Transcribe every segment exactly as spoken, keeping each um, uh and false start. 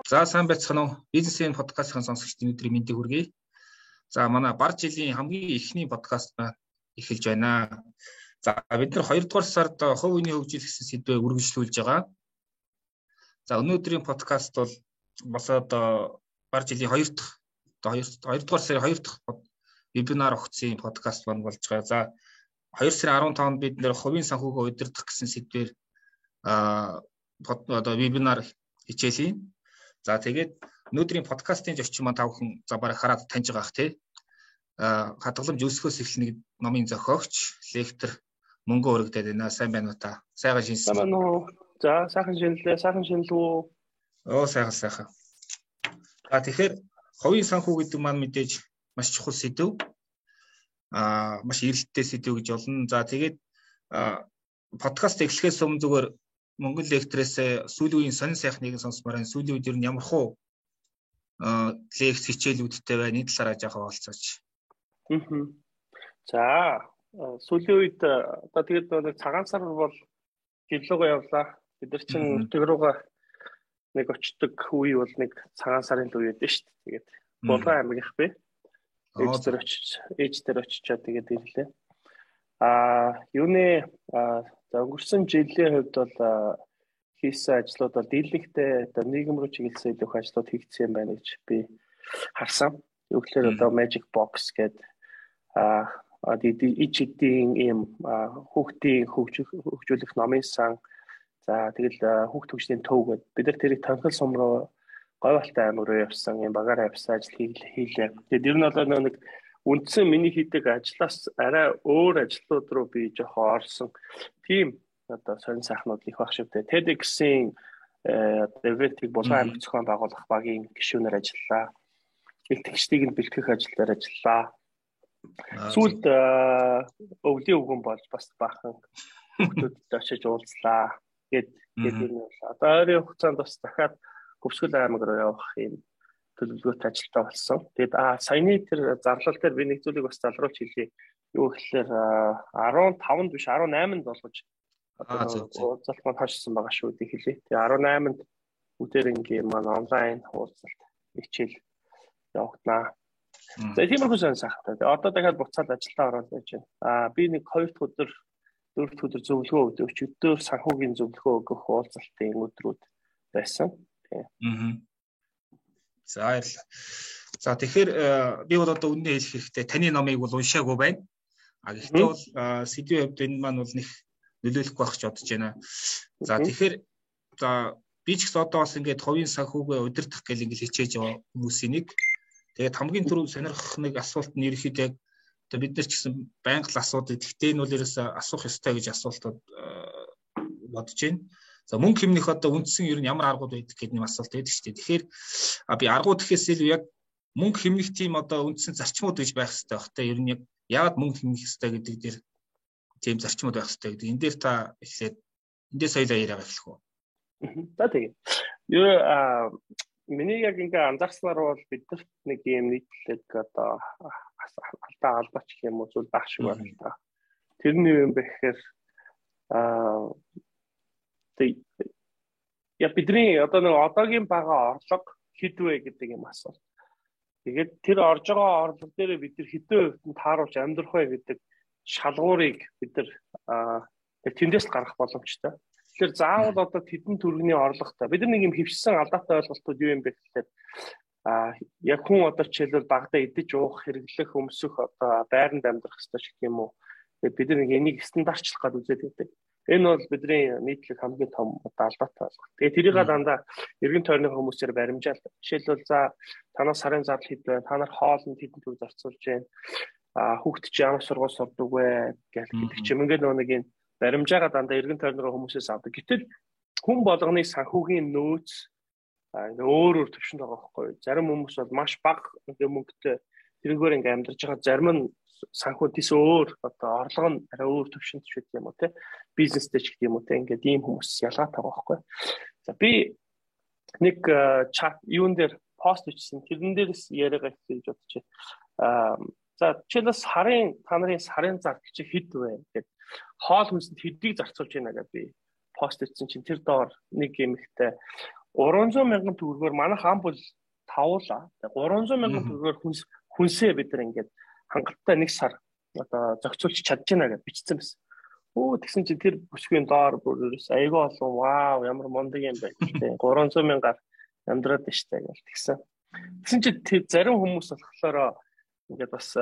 За сайн байцгаана уу? Бизнесийн подкастын сонсогчдын өдрийн мэндийг хүргэе. За манай бар жилийн хамгийн эхний подкаст эхэлж байна. За бид нар хоёрдугаар сард хувь хүний хөгжил гэсэн сэдвээр үргэлжлүүлж байгаа. За өнөөдрийн подкаст бол бас одоо бар жилийн хоёр дахь хоёрдугаар сарын хоёр дахь вебинар өгсөн подкаст маань болж байгаа. За хоёр сарын арван таванд бид нэр хувийн санхүүгөө удирдах гэсэн сэдвээр а одоо вебинар хичээлээ. За тэгээд өнөөдрийн подкастын зочин маань тав хүн за бараг хараад таньж байгаа х тий. А хадгаламж өсөхөөс эхлэнэ номын зохиогч, лектор мөнгө өргөдөд байна. Сайн байна уу та? Сайхан шинэлсэн. Сайн байна уу? За сайхан шинэлээ, сайхан шинэл үү? Оо сайхан сайхан. За тэгэхээр хувийн санхүү гэдэг маань мэдээж маш чухал сэдв. А маш эрэлттэй сэдв гэж болно. За тэгээд подкаст эхлэхээс өмнө зүгээр Монгол лекторээс сүүлийн үеийн сонин сайхныг сонсмоор энэ сүүлийн үед ер нь ямар хуу лекц хичээлүүдтэй байна энэ талаараа жаахан олцооч. Аа. За сүүлийн үед одоо тэгээд нэг цагаан сар бол жилүүгээ явлаа. Бид нар чинь өтөг рүүгээ нэг очдог үе бол нэг цагаан сарын л үе байдсан шүү дээ. Тэгээд Булган аймагийнх би ээж дээр очиж ээж дээр очичаад тэгээд ирлээ. Аа юуны за өнгөрсөн жилийн хувьд бол хийсэн ажлууд бол дийлэнхтэй одоо нийгэм рүү чиглэсэн илүү их ажлууд хийгдсэн байна гэж би харсан. Юу гэхээр одоо Magic Box гэдэг аа ичдийн ийм хүүхдийн хөгжүүлэх номын сан за тэгэл хүүхд хөгжлийн төв гэдэг бид нар тэрийг тонхол сум руу Говьалтай аймаг руу явсан юм багаараа явсан ажил хийлээ. Тэгээд ер нь бол нэг үндсэн миний хийдэг ажлаас арай өөр ажлууд руу би жоохон орсон. Тийм одоо сонин сайхнууд их баг шивтэй. TEDx-ийн ивентийг Булган аймаг зохион байгуулах багийн гишүүнээр ажиллалаа. Илтгэгчдийг нь бэлтгэх ажлаар ажиллалаа. Сүүлд өвлийн өвгөн болж бас баахан хүмүүстэй очиж уулзлаа. Гэт гэдэг юм байна. Одоо ойрын хугацаанд бас дахиад Хөвсгөл аймаг руу явах юм төлөвлөгөөтэй ажилтаа болсон. Тэгээд а саяны тэр зарлал дээр би нэг зүйлийг бас залруулж хэлье. Юу гэхээр арван таванд биш арван найманд болгож одоо уулзалт маань хашсан байгаа шүү дээ хэлье. Тэгээд арван найманд үдээр ингээм маань онлайн уулзалт хичээл явагдана. За тиймэрхүү сан сайхтай. Одоо дахиад буцаад ажилдаа ороод байж байна. А би нэг хоёр дахь өдөр дөрөв дэх өдөр зөвлөгөө өгдөг. Өдөр санхүүгийн зөвлөгөө өгөх уулзалтын өдрүүд байсан. Аа. За баярлалаа. За тэгэхээр би бол одоо үнэн хэлэх хэрэгтэй. Таны номыг бол уншаагүй байна. А гэхдээ бол сэдвийн хувьд энэ маань бол нэг нөлөөлөхгүй байх гэж бодож байна. За тэгэхээр за би ч гэсэн одоо бас ингээд хувийн санхүүгээ удирдах гэл ингээд хичээж байгаа хүмүүсийн нэг. Тэгээд хамгийн түрүү сонирхох нэг асуулт нь ерөөхдөө одоо бид нар ч гэсэн байнга л асуудаг. Гэхдээ энэ бол ерөөсөө асуух ёстой гэж асуултууд бодож байна. За мөнгө хэмнэх одоо үндсэн ер нь ямар аргууд байдаг гэдэг нэг асуулт байдаг шүү дээ. Тэгэхээр би аргууд гэхээс илүү яг мөнгө хэмнэх тийм одоо үндсэн зарчмууд гэж байх хэрэгтэй баг. Тэ ер нь яг яагаад мөнгө хэмнэх хэрэгтэй гэдэг дээр тийм зарчмууд байх хэрэгтэй гэдэг. Энэ дээр та эхлээд эндээс соёлоо яриа эхлэх үү? За тийм. Юу а миний яг ингээ анзаарснаар бол бидэрт нэг юм нийтлэг одоо алдаа албач гэх юм уу зүйл баг шиг байна л да. Тэрний юм бэ гэхээр а я бидний одоо нэг одоогийн бага орлого хэдвэ гэдэг юм асуулт. Тэгээд тэр орж байгаа орлого дээр бид нар хэдэн хувьд тааруулж амьдрах вэ гэдэг шалгуурыг бид нар тэндээс гаргах боломжтой. Тэгэхээр заавал одоо тэдэн төгрөгийн орлоготой. Бид нар нэг юм хөвшсөн алдаатай ойлголтууд юу юм бэ гэхээр а яг хүн одоо жишээлбэл багада идэж уух, хэрэглэх, өмсөх одоо байранд амьдрах хэрэгтэй ч гэх юм уу. Тэгээд бид нар нэг энийг стандартчлах гэдэг үзээд байдаг. Энэ бол бидний нийтлэг хамгийн том алдаатай ойлголт. Тэгээ тэрийг дандаа эргэн тойрны хүмүүсээр баримжаал. Жишээлбэл за танаас сарын зардал хэд вэ? Та нар хоолнд хэдэн төгрөг зарцуулж байна? А хүүхд чи ямар сургууль сурдаг вэ? Гэх гэдэг чим ингээд нэг юм баримжаагаа дандаа эргэн тойрны хүмүүсээс авдаг. Гэтэл хүн болгоны санхүүгийн нөөц өөр өөр төвшөнд байгаа байхгүй. Зарим хүмүүс бол маш бага мөнгөтэй тэрнгээр ингээд амьдарч байгаа. Зарим нь санхүү тийс өөр одоо орлого нь арай өөр төвшөнд ч гэдэг юм уу те бизнестэй ч гэдэг юм уу те ингээд ийм хүмүүс ялгаатай байгаа байхгүй. За би нэг чат юун дээр пост бичсэн тэрэн дээрс яриагаа хийж бодчих. Аа за жишээлбэл сарын та нарын сарын зар чи хэд вэ гэдэг хоол хүнсэнд хэдийг зарцуулж байна гэдэг би пост хийсэн чинь тэр доор нэг юм ихтэй гурван зуун мянган төгрөгөөр манайх ам бол тавуулаа. гурван зуун мянган төгрөгөөр хүнс хүнсээ бид нар ингээд хангалттай нэг сар одоо зохицуулж чадж байна гэж бичсэн байсан. Оо тэгсэн чинь тэр бүсгийн доор бүрээс айгүй олон вау ямар мундаг юм бэ гэдэг. гурван зуун мянгаар амьдраад штэ гэж тэгсэн. Тэгсэн чинь тэр зарим хүмүүс болохоор ингээд бас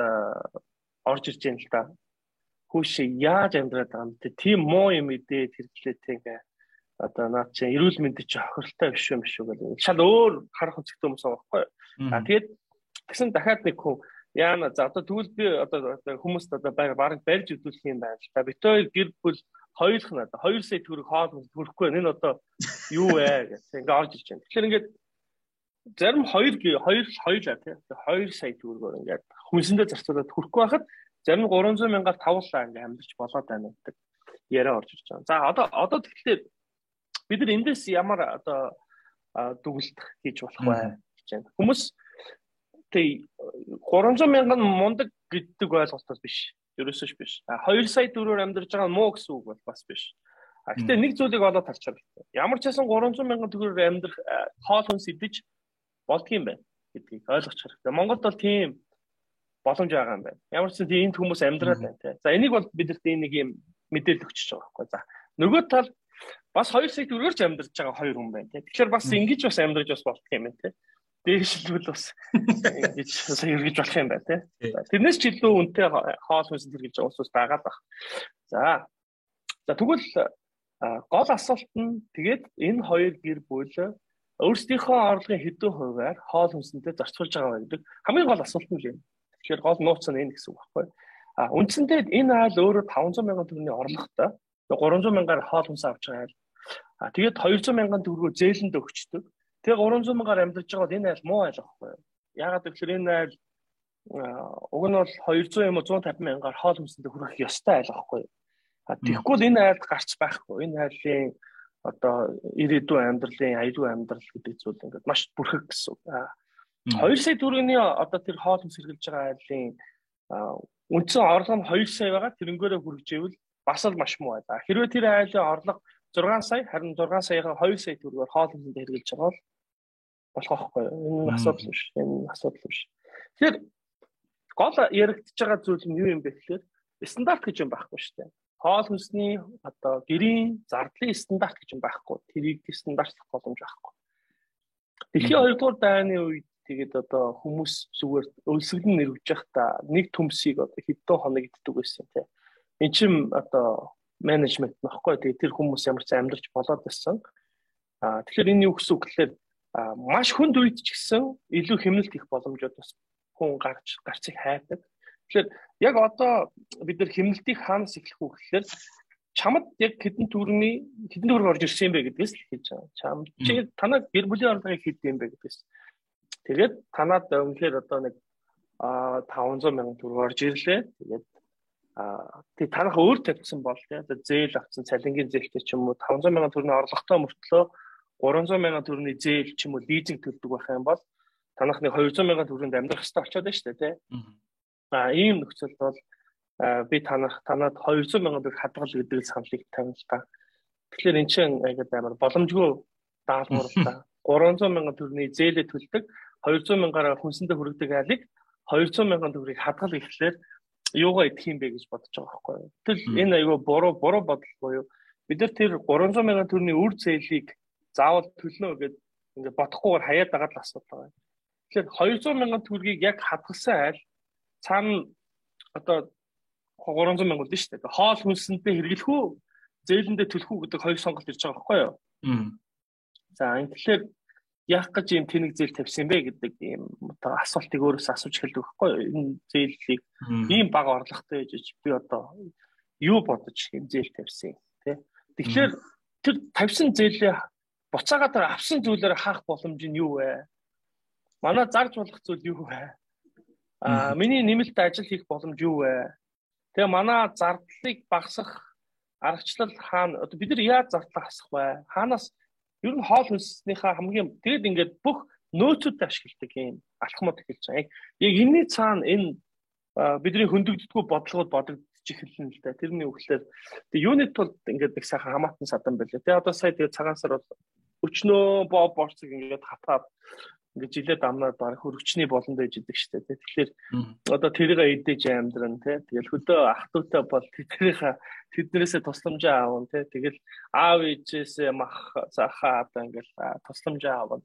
орж ирж байна л да. Хүүш яаж амьдраад байгаа юм те тийм муу юм идэ тэрглээ те ингээ одоо наад чи эрүүл мэндийн чи хохиролтой биш юм биш үү гэдэг. Шал өөр харах үзэгтэй хүмүүс байгаа байхгүй. А тэгээд тэгсэн дахиад нэг хүн яана за одоо тэгвэл би одоо хүмүүст одоо бараг барьж өдүүлэх юм байна л та. Бид хоёр гэр бүл хоёулах нь одоо хоёр сая төгрөг хоол хөрөхгүй энэ одоо юу вэ гэх ингээ орж ирж байна. Тэгэхээр ингээд зарим хоёр хоёр хоёулаа тий хоёр сая төгрөгөөр ингээд хүнсэндээ зарцуулаад хөрөхгүй байхад зарим гурван зуун мянгаар тавуулаа ингээ амьдч болоод байна гэдэг яриа орж ирж байгаа. За одоо одоо тэгэхээр бид нар эндээс ямар одоо дүгнэлт хийж болох вэ гэж байна. Хүмүүс тэг гурван зуун мянган мундаг гэдэг ойлголтоос биш. Ерөөсөө биш. хоёр сая төгрөгөөр амьдарч байгаа муу гэсэн үг бол бас биш. А гэтээ нэг зүйлийг олоод харж байгаа. Ямар ч байсан гурван зуун мянган төгрөгөөр амьдрах хоол хүнс идэж болдгийм байна гэдгийг ойлгох хэрэгтэй. Монголд бол тийм боломж байгаа юм байна. Ямар ч тийм энд хүмүүс амьдраад байна тий. За энийг бол бидэрт нэг юм мэдээлэл өгч байгаа байхгүй. За нөгөө тал бас хоёр сая төгрөгөөр ч амьдарч байгаа хоёр хүн байна тий. Тэгэхээр бас ингэж бас амьдарч бас болдго юм байна тий. Дээшлбэл бас ингэж сая эргэж болох юм байна тий. Тэрнээс ч илүү үнэтэй хоол хүнс хэрэгж байгаа хүмүүс байгаа даа. За. За тэгвэл гол асуулт нь тэгээд энэ хоёр гэр бүл өөрсдийнхөө орлогын хэдэн хувиар хоол хүнсэндээ зарцуулж байгаа гэдэг хамгийн гол асуулт нь юм. Тэгэхээр гол нууц нь энэ гэсэн үг байхгүй. А үндсэндээ энэ айл өөрөө таван зуун мянган төгрөгийн орлоготой гурван зуун мянгаар хоол хүнс авч байгаа айл. А тэгээд хоёр зуун мянган төгрөгөөр зээлэнд өгчдөг. Тэгээ гурван зуун мянгаар амьдарч байгаа бол энэ айл муу айл байхгүй. Яагаад гэвэл энэ айл уг нь бол хоёр зуун юм уу зуун тавин мянгаар хоол хүнсэндээ хүрэх ёстой айл байхгүй. А тэгэхгүй энэ айлд гарч байхгүй. Энэ айлын одоо ирээдүйн амьдралын аюулгүй амьдрал гэдэг зүйл ингээд маш бүрхэг гэсэн. хоёр сая төгрөгийн одоо тэр хоол хүнс хэрглэж байгаа айлын үндсэн орлого нь хоёр сая байгаа. Тэрнгээрээ хүргэжээвэл бас л маш муу байлаа. Хэрвээ тэр айлын орлого зургаан сая харин зургаан саяга хоёр сая төгрөгөөр хоол хүнсэнд хэрглэж байгаа бол болох байхгүй. Энэ асуудал биш. Энэ асуудал биш. Тэгэхээр гол яригдж байгаа зүйл нь юу юм бэ гэхээр стандарт гэж юм байхгүй шүү дээ. Хоол хүнсний одоо гэрийн зардлын стандарт гэж юм байхгүй. Тэрийг стандартлах боломж байхгүй. Дэлхийн хоёрдугаар дайны үед тэгээд одоо хүмүүс зүгээр өлсгөлн нэрвж байхдаа нэг төмсийг одоо хэдэн хоног иддэг байсан тийм. Энд чинь одоо менежмент нөхгүй. Тэгээд тэр хүмүүс ямар ч амьдарч болоод байсан. Аа тэгэхээр энэ юу гэсэн үг гэхээр маш хүнд үед ч гэсэн илүү хэмнэлт их боломжууд бас хүн гарч гарцыг хайдаг. Тэгэхээр яг одоо бид нар хэмнэлтийг хаанаас эхлэх үү гэхээр чамд яг хэдэн төгрөгийн хэдэн төгрөг орж ирсэн юм бэ гэдгээс л хэлж байгаа. Чам чи танаа гэр бүлийн орлогыг хэд юм бэ гэдгээс. Тэгээд танаад өмнөхөр одоо нэг таван зуун мянган төгрөг орж ирлээ. Тэгээд аа тий танах өөр тавьсан бол тий одоо зээл авсан цалингийн зээлтэй ч юм уу таван зуун мянган төгрөгийн орлоготой мөртлөө гурван зуун мянган төгрөгийн зээл ч юм уу лизинг төлдөг байх юм бол танах нэг хоёр зуун мянган төгрөгийн амьдрах хэрэгтэй болчиход байна шүү дээ тий. А ийм нөхцөлд бол би танах танад хоёр зуун мянган төгрөг хадгал гэдэг саналыг тавина л та. Тэгэхээр эн чинь айгаад амар боломжгүй даалгавар л та. гурван зуун мянган төгрөгийн зээлээ төлдөг хоёр зуун мянгаараа хүнсэндээ хүргэдэг айлыг хоёр зуун мянган төгрөгийг хадгал гэхлээр юугаа идэх юм бэ гэж бодож байгаа байхгүй юу. Тэгэл энэ айгүй буруу буруу бодол буюу бид нар тэр гурван зуун мянган төгрөгийн үр зээлийг заавал төлнө гэдээ ингээд бодохгүйгээр хаяад байгаа л асуудал байна. Тэгэхээр хоёр зуун мянган төгрөгийг яг хадгалсан айл цаана одоо гурван зуун мянга болно шүү дээ. Хоол хүнсэндээ хэрэглэх үү, зээлэндээ төлөх үү гэдэг хоёр сонголт ирж байгаа байхгүй юу? За энэ тэгэхээр яах гэж юм тэнэг зээл тавьсан бэ гэдэг ийм одоо асуултыг өөрөөс асууж эхэлдэг байхгүй юу? Энэ зээлийг ийм бага орлоготой гэж би одоо юу бодож энэ зээл тавьсан тий? Тэгэхээр тэр тавьсан зээлээ буцаагаад авсан зүйлээр хаах боломж нь юу вэ? Манай зарж болох зүйл юу вэ? А миний нэмэлт ажил хийх боломж юу вэ? Тэгээ манай зардлыг багасгах аргачлал хаана одоо бид нар яаж зардлаа хасах вэ? Хаанаас ер нь хоол хүнснийхээ хамгийн тэгэд ингээд бүх нөөцөд ашигладаг юм алхмууд эхэлж байгаа. Яг энэний цаана энэ бидний хөндөгддөггүй бодлогод бодогдож эхэлнэ л да. Тэрний үгээр тэгээ юуны тулд ингээд нэг сайхан хамаатан садан байлаа. Тэгээ одоо сая тэгээ цагаан сар бол өчнөө боо борцог ингээд хатаад ингээд жилээ дамнаад баг хөргөчний болонд байж идэг штэ. Тэгэхээр одоо тэрийг эдэж амьдран тий. Тэгэл хөдөө ах дүүтэй бол тэднийхээ тэднэрээсээ тусламжаа аавн тий. Тэгэл аав ээжээсээ мах захаа одоо ингээд тусламжаа аавн.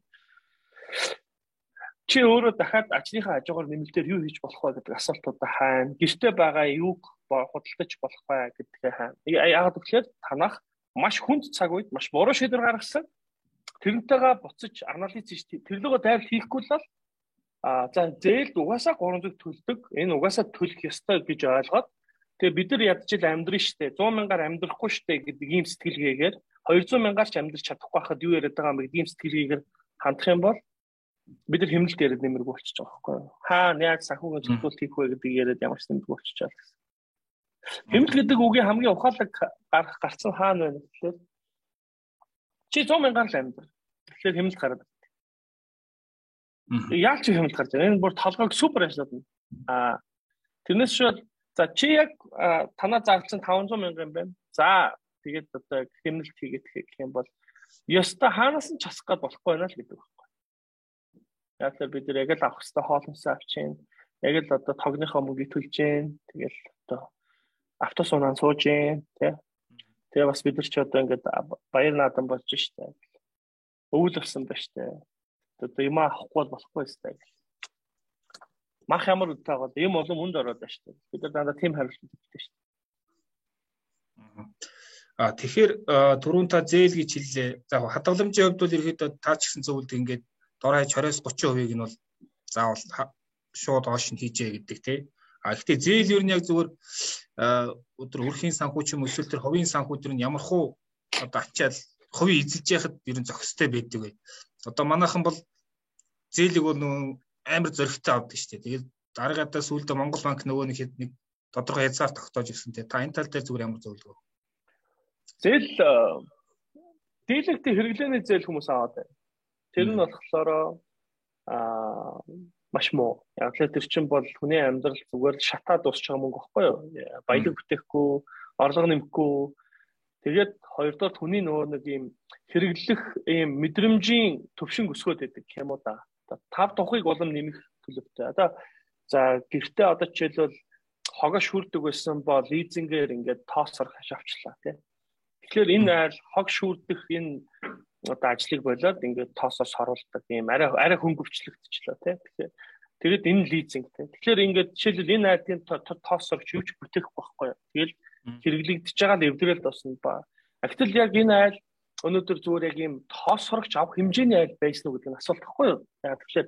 Чи өөрөө дахиад ажлынхаа хажуугаар нэмэлтээр юу хийж болох вэ гэдэг асуултуудаа хаана? Гэртээ байгаа юуг худалдаж болох вэ гэдгээ хаана? Яагаад гэвэл танах маш хүнд цаг үед маш буруу шийдвэр гаргасан. Тэрнтэйгээ буцаж анализ хийж тэрлэгөө дайр хийхгүй л а за зээлд угаасаа гурамжиг төлдөг. Энэ угаасаа төлөх ёстой гэж ойлгоод тэгээ бид нар ядчил амьдрын штэ сто мянгаар амьдрахгүй штэ гэдэг ийм сэтгэлгээгээр двести мянгаар ч амьдрч чадахгүй хахад юу яриад байгаа юм бэ гэдэг ийм сэтгэлгээгээр хандах юм бол бид нар хэмнэлт яриад нэмэргүй болчихж байгаа байхгүй юу? Хаа яг санхүүгийн зөвлөлт хийх вэ гэдэг яриад ямар ч нэмэргүй болчихж байгаа гэсэн. Хэмнэлт гэдэг үгийн хамгийн ухаалаг гарах гарцсан хаана байна гэхээр чи сто мянгаар л амьдр. Тэгэхээр хэмнэлт гараад байна. Яаж чи хэмнэлт гарч байна? Энэ бүр толгойг супер ажиллаад байна. Аа тэрнээс шууд за чи яг танаа зарцсан таван зуун мянга юм байна. За тэгээд одоо хэмнэлт хийгээд гэх юм бол ёстой хаанаас нь часах гад болохгүй байна л гэдэг байна. Яг л бид нар яг л авах хэвээр хоолносоо авчин. Яг л одоо тогныхоо мөнгөийг төлж гин. Тэгэл одоо автобус унаа сууж гин, тий. Тэгээ бас бид нар ч одоо ингээд баяр наадам болж штэ. Өвөл авсан ба штэ. Одоо юм авахгүй болохгүй штэ. Мах ямар үдтэй бол юм олон хүнд ороод байна штэ. Бид нар дандаа тийм хариулт өгдөө штэ. А тэгэхээр түрүүн та зээл гэж хэллээ. За хадгаламжийн хувьд бол ерөөдөө таач гисэн зөвлөд ингээд дор хаяж тwenty-five thirty хувийг нь бол заавал шууд хоош нь хийжээ гэдэг тий. А гэхдээ зээл ер нь яг зүгээр өдөр өрхийн санхүү ч юм эсвэл тэр хувийн санхүү төр нь ямар хуу одоо ачаал хувийн эзэлж яхад ер нь зохистой байдаг бай. Одоо манайхан бол зээлийг бол нөө амар зөрөгтэй авдаг шүү дээ. Тэгээд дараагаадаа сүүлдээ Монгол банк нөгөө нэг хэд нэг тодорхой хязгаар тогтоож ирсэн тий. Та энэ тал дээр зүгээр ямар зөвлөгөө? Зээл дийлэгтэй хэрэглээний зээл хүмүүс аваад байна. Тэр нь болохоор аа маш муу. Яг л тэр чинь бол хүний амьдрал зүгээр шатаад дуусч байгаа мөнгө байхгүй юу? Баялаг бүтээхгүй, орлого нэмэхгүй. Тэгээд хоёрдугаар хүний нөгөө нэг ийм хэрэглэх ийм мэдрэмжийн төвшин өсгөөд байдаг юм уу да. Тав тухыг улам нэмэх төлөвтэй. Одоо за гэртээ одоо жишээлбэл хогоо шүрдэг байсан бол лизингээр ингээд тоосор хашаавчлаа тий. Тэгэхээр энэ айл хог шүрдэх энэ одоо ажлыг болоод ингээд тоосоос хоруулдаг юм арай арай хөнгөвчлөгдчихлөө тий. Тэгэхээр тэгээд энэ лизинг тий. Тэгэхээр ингээд жишээлбэл энэ айлын тоосорч юу ч бүтээх байхгүй. Тэгэл хэрэглэгдэж байгаа л эвдрэл тосно ба. Гэтэл яг энэ айл өнөөдөр зүгээр яг ийм тоосорч авах хэмжээний айл байсан уу гэдэг нь асуулт байхгүй юу? Яг тэгэхээр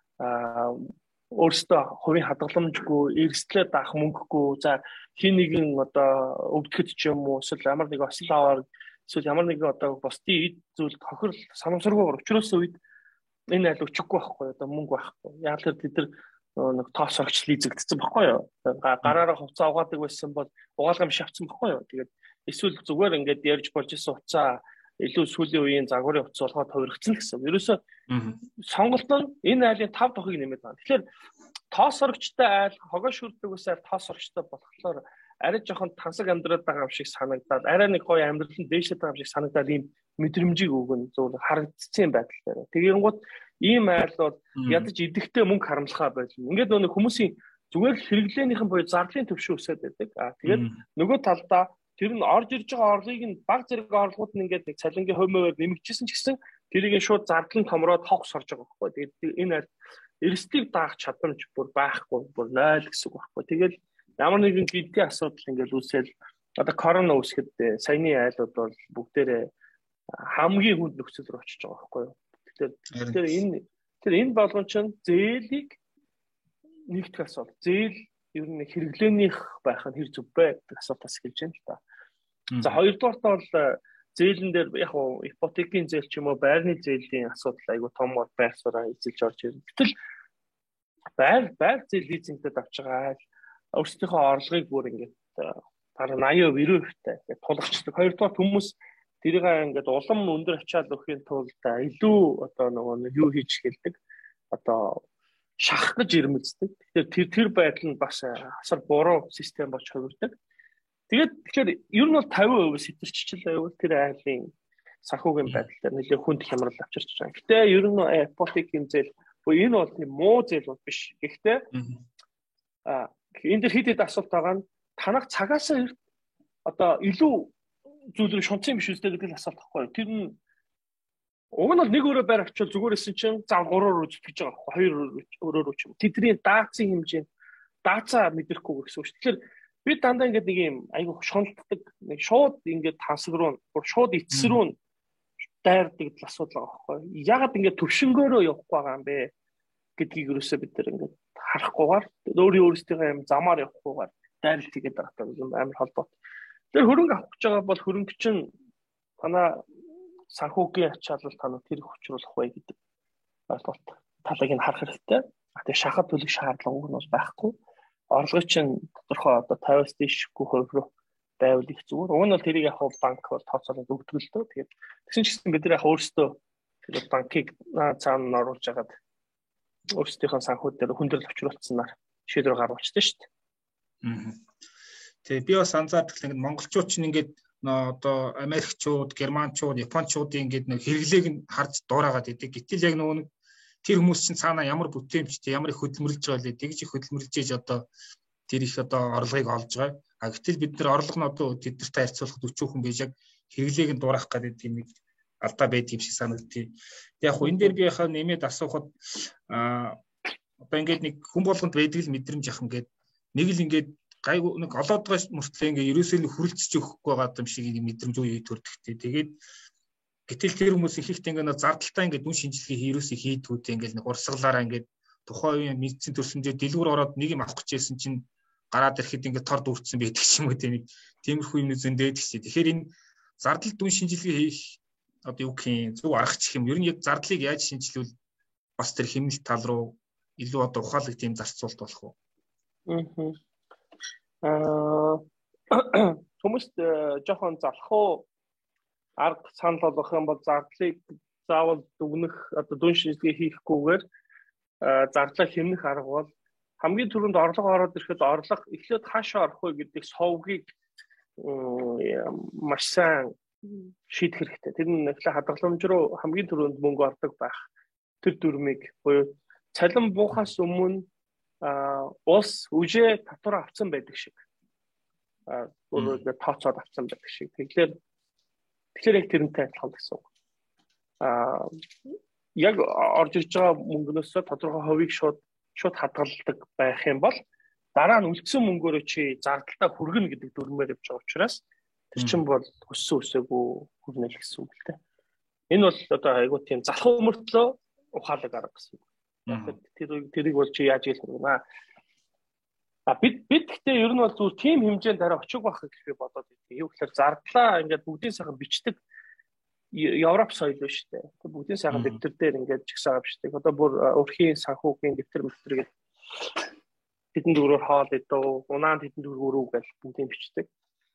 аа өөрөөсөө хувийн хадгаламжгүй, эрсдлээ даах мөнгөгүй, за хин нэгэн одоо өвдөхөд ч юм уу, эсвэл ямар нэг осол аваар, эсвэл ямар нэгэн одоо бусдын эд зүйл тохирол санамсаргүйгээр учраас үед энэ айл өчөхгүй байхгүй одоо мөнгө байхгүй. Яг л тэд нар нэг тоосорч лизэгдсэн байхгүй юу? Гараараа хувцас угаадаг байсан бол угаалгам шавцсан байхгүй юу? Тэгээд эсвэл зүгээр ингээд ярьж болж исэн уцаа илүү сүүлийн үеийн загварын утас болгоод хувиргацсан гэсэн. Ерөөсө сонголт нь энэ айлын тав тухыг нэмээд байна. Тэгэхээр тоосорчтой айл, хогоо шүрдэг ус айл тоосорчтой болохоор арай жоохон тансаг амьдраад байгаа юм шиг санагдаад, арай нэг гоё амьдралын дээшээ байгаа юм шиг санагдаад ийм мэдрэмжийг өгөн зөв харагдсан байдал дээр. Тэгэнгუთ ийм айл бол ядаж идэхтэй мөнгө харамлахаа байлна. Ингээд нөгөө хүмүүсийн зүгээр хэрэглээнийхэн буюу зардлын төвшин өсөд байдаг. Аа тэгээд нөгөө талдаа тэр нь орж ирж байгаа орлогыг нь баг зэрэг орлогууд нь ингээд нэг цалингийн хувьмээр нэмэгдчихсэн ч гэсэн тэрийг шууд зардлын томроод хогс орж байгаа байхгүй. Тэгээд энэ аль эрсдлийг даах чадамж бүр байхгүй, бүр нойл гэсэн үг байхгүй. Тэгэл ямар нэгэн гидгийн асуудал ингээд үүсэл одоо корона үүсгэд саяны айлууд бол бүгдээрээ хамгийн хүнд нөхцөл рүү очиж байгаа байхгүй. Тэгэхээр тэр энэ тэр энэ болгон чинь зээлийг нэгтгэх асуудал. Зээл ер нь хэрэглээнийх байх нь хэр зүв бэ гэдэг асуултаас эхэлж байна л да. За хоёрдугаарт бол зээлэн дээр яг нь ипотекийн зээл ч юм уу байрны зээлийн асуудал айгүй том байр сууриа эзэлж орж ирнэ. Гэтэл байр байр зээл лизингтэй авч байгаа өөрсдийнхөө орлогыг бүр ингээд бараг eighty ninety percent ингээд тулгачдаг. Хоёрдугаар хүмүүс тэрийг ингээд улам өндөр ачаал өгөхийн тулд илүү одоо нөгөө юу хийж хэлдэг. Одоо шахах гэж ирмэлцдэг. Тэгэхээр тэр тэр байдал нь бас асар буруу систем болж хувирдаг. Тэгээд тэгэхээр ер нь бол fifty percent сэтэрччихлээ байвал тэр айлын санхүүгийн байдал дээр нэлээд хүнд хямрал авчирч байгаа. Гэтэ ер нь апотекийн зээл энэ бол тийм муу зээл бол биш. Гэхдээ а энэ дэр хэд хэд асуулт байгаа нь танах цагаасаа одоо илүү зүйлийг шунцсан биш үстэй гэдэг л асуулт байхгүй. Тэр нь уг нь бол нэг өрөө байр авчвал зүгээрсэн чинь зав гураар үз гэж байгаа байхгүй. Хоёр өрөөр үз. Тэдний даацын хэмжээ даацаа мэдрэхгүй гэсэн үг шүү. Тэгэхээр би дандаа ингээд нэг юм айгүй шуналтдаг нэг шууд ингээд тансаг руу шууд эцэс рүү дайрдаг л асуудал байгаа байхгүй. Ягаад ингээд төвшнгөөрөө явахгүй байгаа юм бэ гэдгийг юусоо бид нар ингээд харахгүйгээр өөрийн өөрсдийнхөө юм замаар явахгүйгээр дайралт хийгээд байгаа юм амар холбоот. Тэр хөрөнгө авах гэж байгаа бол хөрөнгө чинь манай санхүүгийн ачаалал танаа тэр хүчруулах бай гэдэг ойлголт талыг нь харах хэрэгтэй. Тэгээ шахаад төлөх шаардлага нь бол байхгүй. Орлогын чинь тодорхой одоо пятьдесят дээшгүй хувь руу байвал их зүгээр. Уг нь бол тэрийг яг банк бол тооцоолоод өгдөг л дөө. Тэгээд тэгсэн ч гэсэн бид нар яг өөрсдөө тэр банкыг цаана оруулж агаад өөрсдийнхөө санхүүд дээр хүндрэл авчруулснаар шийдвэр гаргуулчихсан шүү дээ. Аа. Тэгээ би бас анзаардаг л ингээд монголчууд чинь ингээд одоо Америкчууд, Германчууд, Япончуудын ингээд нэг хэрэглээг нь харж дуурайгаад идэг. Гэтэл яг нөгөө тэр хүмүүс чинь цаана ямар бүтээмжтэй, ямар их хөдөлмөрлж байгаа лээ. Тэгж их хөдөлмөрлж ээж одоо тэр их одоо орлогыг олж байгаа. А гэтэл бид нар орлого нь одоо тэднэртэй харьцуулахад өчүүхэн байж яг хэрэглээг нь дуурайх гэдэг юм алдаа байдаг юм шиг санагдтыг. Тэг яг хөө энэ дээр би яхаа нэмээд асуухад а одоо ингээд нэг хүн болгонд байдаг л мэдрэмж ах ингээд нэг л ингээд гайгүй нэг олоод байгаа мөртлөө ингээд ерөөсөө л хүрэлцэж өгөхгүй байгаа юм шиг мэдрэмж үе төрдөгтэй. Тэгээд гэтэл тэр хүмүүс ихэнхдээ ингээд зардалтаа ингээд дүн шинжилгээ ерөөсөө хийдгүүтэй ингээд нэг урсгалаараа ингээд тухайн үеийн медицин төрсөндөө дэлгүүр ороод нэг юм авах гэжсэн чинь гараад ирэхэд ингээд тор дүүрсэн байдаг юм уу тийм тиймэрхүү юм зөндөөд гэсэн. Тэгэхээр энэ зардал дүн шинжилгээ хийх одоо юу гэх юм зөв аргач гэх юм. Ер нь яг зардлыг яаж шинжилвэл бас тэр хэмнэлт тал руу илүү одоо ухаалаг тийм зарцуулт болох уу? Аа хүмүүст жоохон залхуу арга санал болгох юм бол зардлыг заавал дүгнэх одоо дүн шинжилгээ хийхгүйгээр зардлаа хэмнэх арга бол хамгийн түрүүнд орлого ороод ирэхэд орлого эхлээд хаашаа орох вэ гэдэг совгийг маш сайн шийдэх хэрэгтэй. Тэр нь эхлээ хадгаламж руу хамгийн түрүүнд мөнгө ордог байх. Тэр дүрмийг буюу цалин буухаас өмнө улс үжээ татвар авсан байдаг шиг. Аа өөрөөр тооцоод авсан байдаг шиг. Тэгэхээр тэгэхээр яг тэрнтэй адилхан гэсэн үг. Аа яг орж ирж байгаа мөнгнөөс тодорхой хувийг шууд шууд хадгалдаг байх юм бол дараа нь үлдсэн мөнгөөрөө чи зардалтаа хүргэнэ гэдэг дүрмээр явж байгаа учраас тэр чинь бол өссөн өсөөгүй хүрнэ л гэсэн үг л дээ. Энэ бол одоо айгуу тийм залхуу мөртлөө ухаалаг арга гэсэн үг. Тэр тэрийг бол чи яаж хэлэх вэ? А бид бид гэхдээ ер нь бол зүгээр тийм хэмжээнд дараа очих байх гэж би бодоод байна. Юу гэхээр зардлаа ингээд бүгдийн сайхан бичдэг Европ соёл биш үү? Бүгдийн сайхан дэвтэр дээр ингээд жигсаа авчдаг. Одоо бүр өрхийн санхүүгийн дэвтэр мэлтэр гэдэг хэдэн дөрөөр хоол идөө, унаанд хэдэн дөрөөр гэж бүгдийг бичдэг.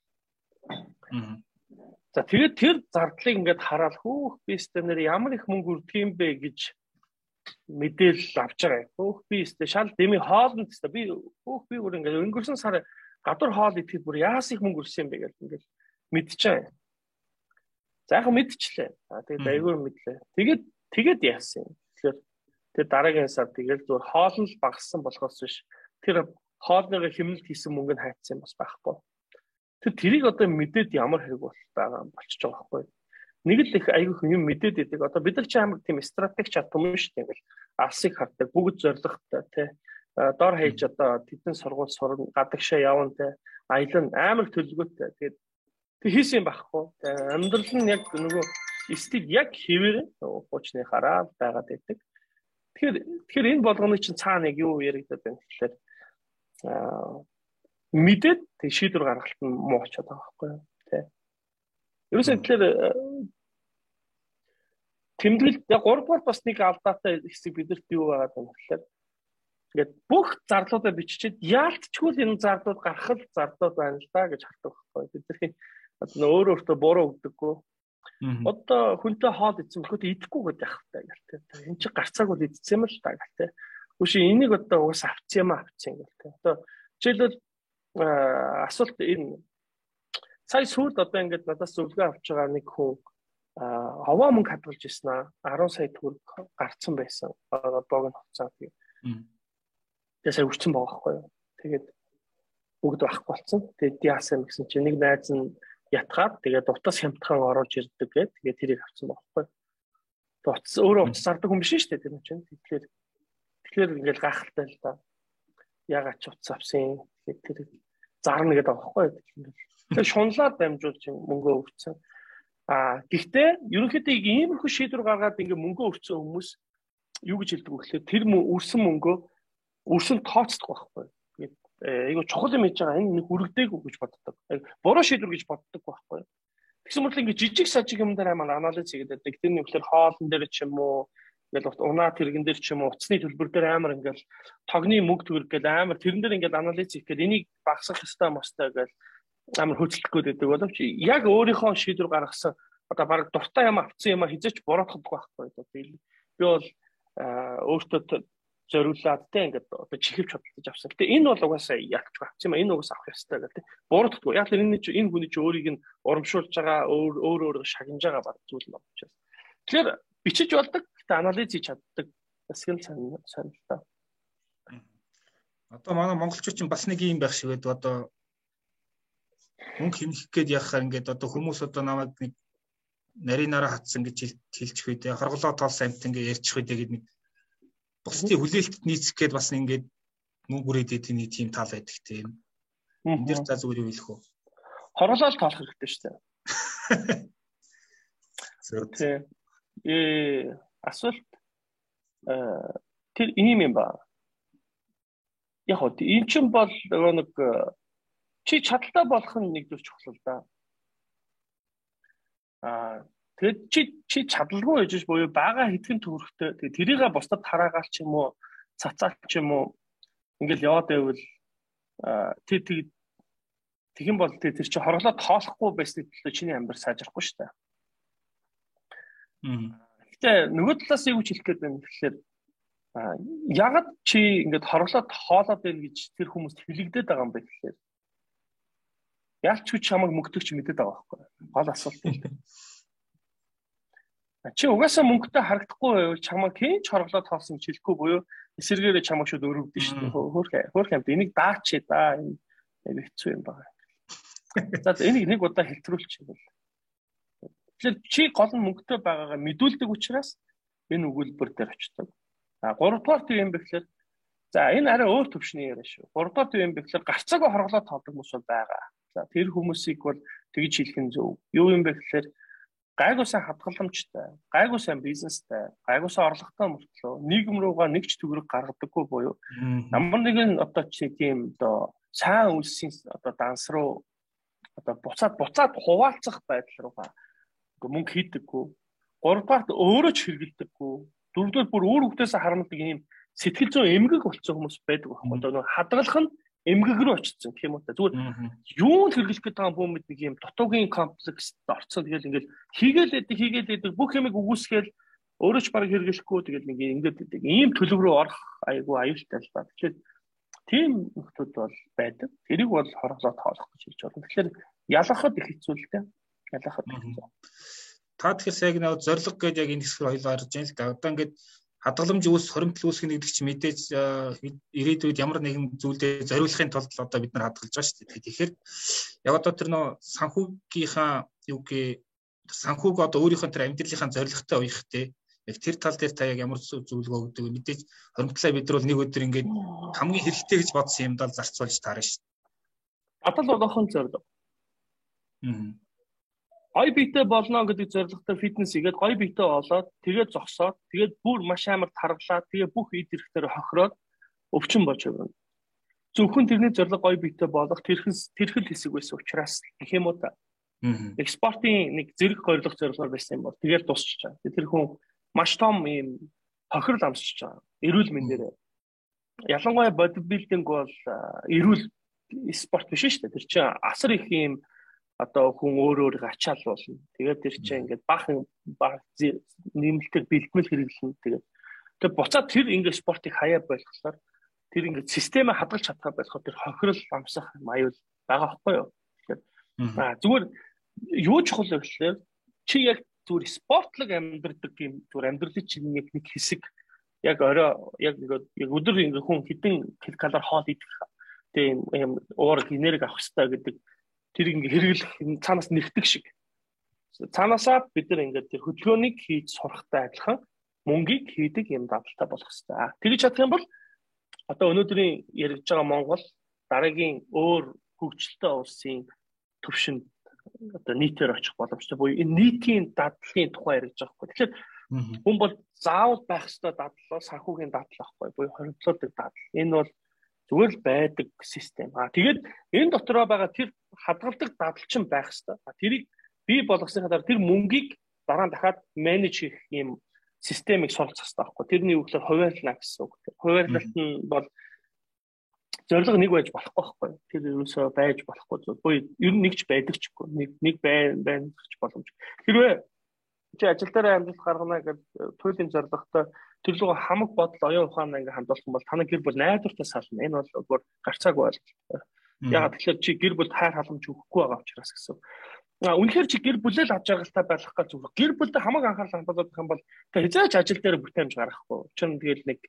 За тэгээд тэр зардлыг ингээд хараад хөөх би стенэр ямар их мөнгө өрдөг юм бэ гэж мэдээлэл авч байгаа. Хөөх би стэ шал дэмий хоолнд стэ би хөөх би өөр ингээд өнгөрсөн сар гадуур хоол идэхэд бүр яас их мөнгө өрсөн юм бэ гэж ингээд мэдчихэе. За яг мэдчихлээ. Тэгээд айгүй мэдлээ. Тэгээд тэгээд яасан юм. Тэгэхээр тэр дараагийн сар тэгээд зөв хоол нь багассан болохоос биш. Тэр хоолныгоо хэмнэлт хийсэн мөнгө нь хайцсан юм бас байхгүй. Тэр тэрийг одоо мэдээд ямар хэрэг бол байгаа болчихж байгаа байхгүй. Нэг л их айгүй юм мэдээд идэг. Одоо бид нар ч амар тийм стратеги чадсан юм шүү дээ. Ингээл алсыг хардаг, бүгд зоригтой тий. Дор хаяж одоо тэдэн сургууль сурна, гадагшаа явна тий. Аялал амар төлөвлөгөөтэй. Тэгээд тэг хийсэн юм байхгүй. Амьдрал нь яг нөгөө стил яг хэвээр хуучны хараад байгаад байдаг. Тэгэхээр тэгэхээр энэ болгоны чинь цаана яг юу яригдаад байна гэхээр аа мэдээд тэг шийдвэр гаргалт нь муу болчиход байгаа байхгүй юу тий. Ерөөсөө тэгэхээр тэмдэглэл яг гуравдугаар бас нэг алдаатай хэсэг бидэрт юу байгаа юм гэхээр ингээд бүх зарлуудаа биччихэд яалтчгүй л энэ зарлууд гарах л зарлууд байна л да гэж хардаг байхгүй. Бидний одоо өөр өөртөө буруу өгдөггүй. Одоо хүнтэй хоол идсэн бөхөд идэхгүй гэдэг яхавтай гэлтэй. Энд чи гарцааг бол идсэн юм л та гэлтэй. Үгүй энийг одоо уус авцсан юм авцсан гэлтэй. Одоо жишээлбэл асуулт энэ сая сүүлд одоо ингээд надаас зөвлөгөө авч байгаа нэг хүн а ховоо мөнгө хадгалж ирсэн аа арван сая төгрөг гарцсан байсан. Одоог нь хуцаа тэгээ. Тэгээ сая үрцэн байгаа байхгүй юу. Тэгээд бүгд байхгүй болсон. Тэгээд яасан гэсэн чинь нэг найз нь ятгаад тэгээд утас хямдхан оруулж ирдэг гэдэг. Тэгээд тэрийг авсан байхгүй юу. Утас өөрөө утас зардаг хүн биш шүү дээ тэр нь чинь. Тэгэхээр тэгэхээр ингээл гайхалтай л да. Ягаад ч утас авсан. Тэгээд тэр зарна гэдэг байгаа байхгүй юу. Тэгээд шунлаад дамжуулж мөнгөө өгсөн. А гэхдээ ерөнхийдөө иймэрхүү шийдвэр гаргаад ингээ мөнгөө өрцсөн хүмүүс юу гэж хэлдэг вэ гэхээр тэр үрсэн мөнгөө үрсэн тооцдог байхгүй. Тэгээд айгу чухал юм хийж байгаа энэ нэг үргэлдээгүй гэж боддог. Буруу шийдвэр гэж боддог байхгүй. Тэгсэн мэт ингээ жижиг сажиг юм дээр амар анализ хийгээд байдаг. Тэрний үгээр хоолн дээр ч юм уу ингээл унаа тэрэгэн дээр ч юм уу утасны төлбөр дээр амар ингээл тогны мөнгө төгрөг гэл амар тэрэн дээр ингээл анализ хийх гээд энийг багасгах ёстой мостой гэл амар хөдөлгөх гээд байдаг боловч яг өөрийнхөө шийдвэр гаргасан одоо баг дуртай юм авсан юм хизээч буруутгадаг байхгүй. Би бол өөртөө зориулаад тэ ингээд одоо чихвч хөдөлж авсан. Гэтэ энэ бол угаасаа ялч авсан юм. Энэ угаасаа авах ёстой гэдэг. Буруутгадаг. Яг л энэ энэ хүний чи өөрийг нь урамшуулж байгаа өөр өөр өөр шагнаж байгаа баг зүйл юм учраас. Тэгэхээр бичиж болдог. Гэтэ анализ хийж чаддаг. Бас гэл сонирхолтой. Одоо манай монголчууд чинь бас нэг юм байх шиг байдаг. Одоо мөнгө хэмнэх гээд яхаар ингээд одоо хүмүүс одоо намайг нэг нарийнараа хатсан гэж хэлчих үедээ хорголоо тоолсон амт ингээд ярьчих үедээ гээд нэг бусдын хүлээлтэд нийцэх гээд бас ингээд мөнгө үрээд идэв нэг тийм тал байдаг тийм. Энд дэр за зүгээр юу хэлэх вэ? Хорголоо тоолох хэрэгтэй шүү дээ. Зөв. Э асуулт э тэр ийм юм ба. Яг хоо энэ ч бол нэг чи чадaltaй болох нь нэг зүйл чухал л да. Аа тэгэд чи чи чадалгүй байж буюу бага хэдхэн төгрөгтэй тэгээ тэрийгээ бусдад хараагаал ч юм уу цацаал ч юм уу ингээл яваад байвал тэр тэг тэгэн бол тэр чи хорглоо тоолохгүй байсны төлөө чиний амьдрал сайжрахгүй шүү дээ. Мм. Гэтэ нөгөө талаас юу ч хэлэх гээд байна тэгэхээр ягаад чи ингээд хорглоо тоолоод байна гэж тэр хүмүүст хэлэгдээд байгаа юм бэ гэхээр ялч хүч чамайг мөнгөтөгч мэдээд байгаа байхгүй. Гол асуулт юм. Чи угаасаа мөнгөтэй харагдахгүй байвал чамайг хэн ч хорглоо тоосон гэж хэлэхгүй буюу эсэргээрээ чамайг шууд өрөвдөн шүү дээ. Хөөх хөөх юмд энийг даачээ да. Энэ хэцүү юм байна. За энийг нэг удаа хэлтрүүлчих юм бол. Тэгэхээр чи гол нь мөнгөтэй байгаагаа мэдүүлдэг учраас энэ өгүүлбэр дээр очдог. А гуравдугаар тийм юм бэхлээр за энэ арай өөр төвшний яриа шүү. Гуравдугаар тийм юм бэхлээр гарцаагаа хорглоо тоолдог хүмүүс байгаа. За тэр хүмүүсийг бол тэгж хэлэх нь зөв. Юу юм бэ гэхээр гайгүй сайн хадгаламжтай, гайгүй сайн бизнестэй, гайгүй сайн орлоготой мөртлөө нийгэм рүүгээ нэг ч төгрөг гаргадаггүй буюу ямар нэгэн одоо чи тийм одоо сайн үлсийн одоо данс руу одоо буцаад буцаад хуваалцах байдал руугаа мөнгө хийдэггүй. Гуравдугаарт өөрөө ч хэрэгэлдэггүй. Дөрөвдүгээр бүр өөр хөвтөөсөө харамдаг ийм сэтгэл зүйн эмгэг болцсон хүмүүс байдаг байхгүй. Одоо хадгалах нь эмгэг рүү очсон гэх юм уу та. Зүгээр юу хэрэглэх гэдэг байгаа юм нэг юм дутуугийн комплекст орцсон. Тэгэл ингээл хийгээл эдэг хийгээл эдэг бүх юмыг үгүйсгээл өөрөө ч бараг хэрэглэхгүй тэгэл нэг ингээд эдэг. Ийм төлөв рүү орох айгүй аюултай л ба. Тэгэхээр тийм нөхцөл бол байдаг. Тэрийг бол хорглоо тоолох гэж хэлж байна. Тэгэхээр ялахад их хэцүү л дээ. Ялахад хэцүү. Та тэгэхээр яг нэг зориг гэж яг энэ хэсгээр хоёул гарч байна л да. Одоо ингээд хадгаламж үүс хоримтлал үүсгэх гэдэг чинь мэдээж ирээдүйд ямар нэгэн зүйлдээ зориулахын тулд одоо бид нар хадгалж байгаа шүү дээ. Тэгэхээр яг одоо тэр нөө санхүүгийнхаа юу гээ санхүүг одоо өөрийнхөө тэр амьдралынхаа зорилготой уяхтэй яг тэр тал дээр та яг ямар зөвлөгөө өгдөг вэ? Мэдээж хоримтлалаа бид нар бол нэг өдөр ингээд хамгийн хэрэгтэй гэж бодсон юмдаа зарцуулж таарна шүү дээ. Батал одоохон зорилго. Аа. Гой биетэй болно гэдэг зорилготой фитнес хийгээд гой биетэй болоод тэгээд зогсоод тэгээд бүр маш амар таргалаад тэгээд бүх эд хэрэгтээр хохироод өвчин болж байгаа. Зөвхөн тэрний зорилго гой биетэй болох тэрхэс тэрхэл хэсэг байсан учраас гэх юм уу та. Экспортын нэг зэрэг гойлох зорилгоор байсан юм бол тэгээд дуусчих чаа. Тэр хүн маш том юм хохирол амсчих чаа. Эрүүл мэндээр. Ялангуяа бодибилдинг бол эрүүл спорт биш шүү дээ. Тэр чинь асар их юм одоо хүн өөр өөр ачаал болно. Тэгээд тэр чинь ингээд баахан баг нэмэлтээр бэлтгэл хэрэглэнэ. Тэгээд тэгээд буцаад тэр ингээд спортыг хаяа болгохлоор тэр ингээд системээ хадгалж чадхаа болохоо тэр хохирол амсах аюул байгаа байхгүй юу. Тэгэхээр аа зүгээр юу чухал вэ гэхээр чи яг зүгээр спортлог амьдардаг юм зүгээр амьдралын чинь нэг нэг хэсэг яг орой яг ингээд яг өдөр ингээд хүн хэдэн килокалори хоол идэх тийм юм уур энерги авах хэрэгтэй гэдэг тэр ингээд хэрэглэх цаанаас нэгтгэх шиг. Цаанаасаа бид нар ингээд тэр хөдөлгөөнийг хийж сурахтай адилхан мөнгийг хийдэг юм давталтай болох хэрэгтэй. Тэгж чадах юм бол одоо өнөөдрийн яригдж байгаа Монгол дараагийн өөр хөгжилтэй улсын төвшөнд одоо нийтээр очих боломжтой буюу энэ нийтийн дадлын тухай яригдж байгаа хгүй. Тэгэхээр хүн бол заавал байх ёстой дадлал санхүүгийн дадлал ахгүй буюу хоригдлоодог дадлал. Энэ бол зүгээр л байдаг систем. Аа тэгээд энэ дотроо байгаа тэр хадгалдаг дадлал чинь байх ёстой. Тэрийг бий болгосныхаа дараа тэр мөнгийг дараа нь дахиад менеж хийх юм системийг суралцах хэрэгтэй байхгүй. Тэрний үг л хуваарлаа гэсэн үг. Хуваарлалт нь бол зорилго нэг байж болохгүй байхгүй. Тэр ерөөсөө байж болохгүй зүйл. Буюу ер нь нэгч байдаг ч үгүй. Нэг нэг байна байна гэж боломж. Хэрвээ чи ажил дээр амжилт гаргана гэж туйлын зорилготой тэр луга хамаг бодол оюун ухаанаа ингээ хандуулах юм бол таны гэр бүл найдвартай сална. Энэ бол өөр гарцаагүй ойлголт. Ягаад тэгэхээр чи гэр бүлд хайр халамж өгөхгүй байгаа учраас гэсэн. А үнэхээр чи гэр бүлээ л аж аргалтай байх гэж зүгээр. Гэр бүлдээ хамаг анхаарал хандуулах юм бол тэг хязгаарч ажил дээр бүтээмж гаргахгүй. Чин тэгэл нэг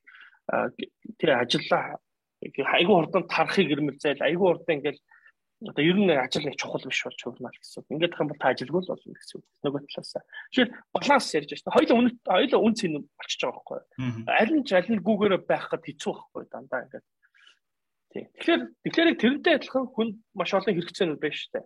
тэр ажиллаа айгүй хурдан тарахыг ирмэлзээл айгүй хурдан ингээл одоо ер нь ажил нэг чухал биш болж хувнаа гэсэн. Ингээд их юм бол та ажилгүй л болно гэсэн. Нөгөө талаасаа. Тэгэхээр баланс ярьж байна. Хоёул үнэ хоёул үн цэн болчихж байгаа байхгүй. Аль нь ч аль нь гүүгээр байх гэд хэцүү байхгүй дандаа ингээд. Тийм. Тэгэхээр тэгэхээр тэрнтэй адилхан хүн маш олон хэрэгцээнүүд байна шүү дээ.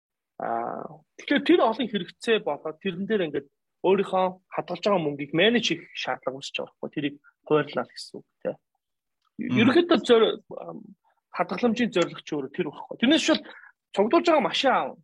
Аа тэгэхээр тэр олон хэрэгцээ болоод тэрэн дээр ингээд өөрийнхөө хадгалж байгаа мөнгийг менеж хийх шаардлага үүсэж байгаа байхгүй. Тэрийг хуваарлаа гэсэн үг тийм. Ерөнхийдөө зөөр хадгаламжийн зорилго ч өөр тэр байхгүй. Тэрнээс шил цуглуулж байгаа машин аав.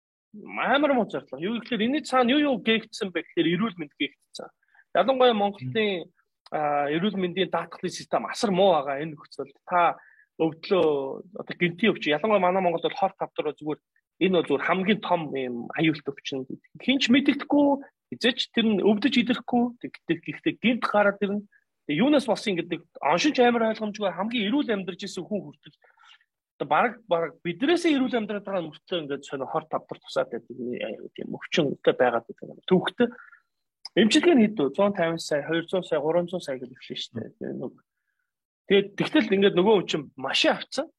Амар муу зорилго. Юу гэхээр энэ цаана юу юу гээгдсэн бэ гэхээр эрүүл мэнд гээгдсэн. Ялангуяа Монголын эрүүл мэндийн даатгалын систем асар муу байгаа энэ нөхцөлд та өвдлөө одоо гинтийн өвч ялангуяа манай Монголд бол хор тавдраа зүгээр энэ бол зүгээр хамгийн том юм аюулт өвчин. Хинч мэддэхгүй эзэж тэр нь өвдөж идэхгүй гэхдээ гинт гараад ирнэ. Юунаас болсон гэдэг оншинч амар ойлгомжгүй хамгийн эрүүл амьдарч исэн хүн хүртэл одоо баг баг биднээсээ эрүүл амьдраад байгаа мөртлөө ингээд сонио хор тавдар тусаад байдаг тийм өвчнөд байгаад байгаа. Төвхтө эмчилгээ нь хэд вэ? one fifty сая, two hundred сая, three hundred сая гэж хэлсэн шүү дээ. Тэгээд тэгтэл ингээд нөгөө өвчин машин авцсан.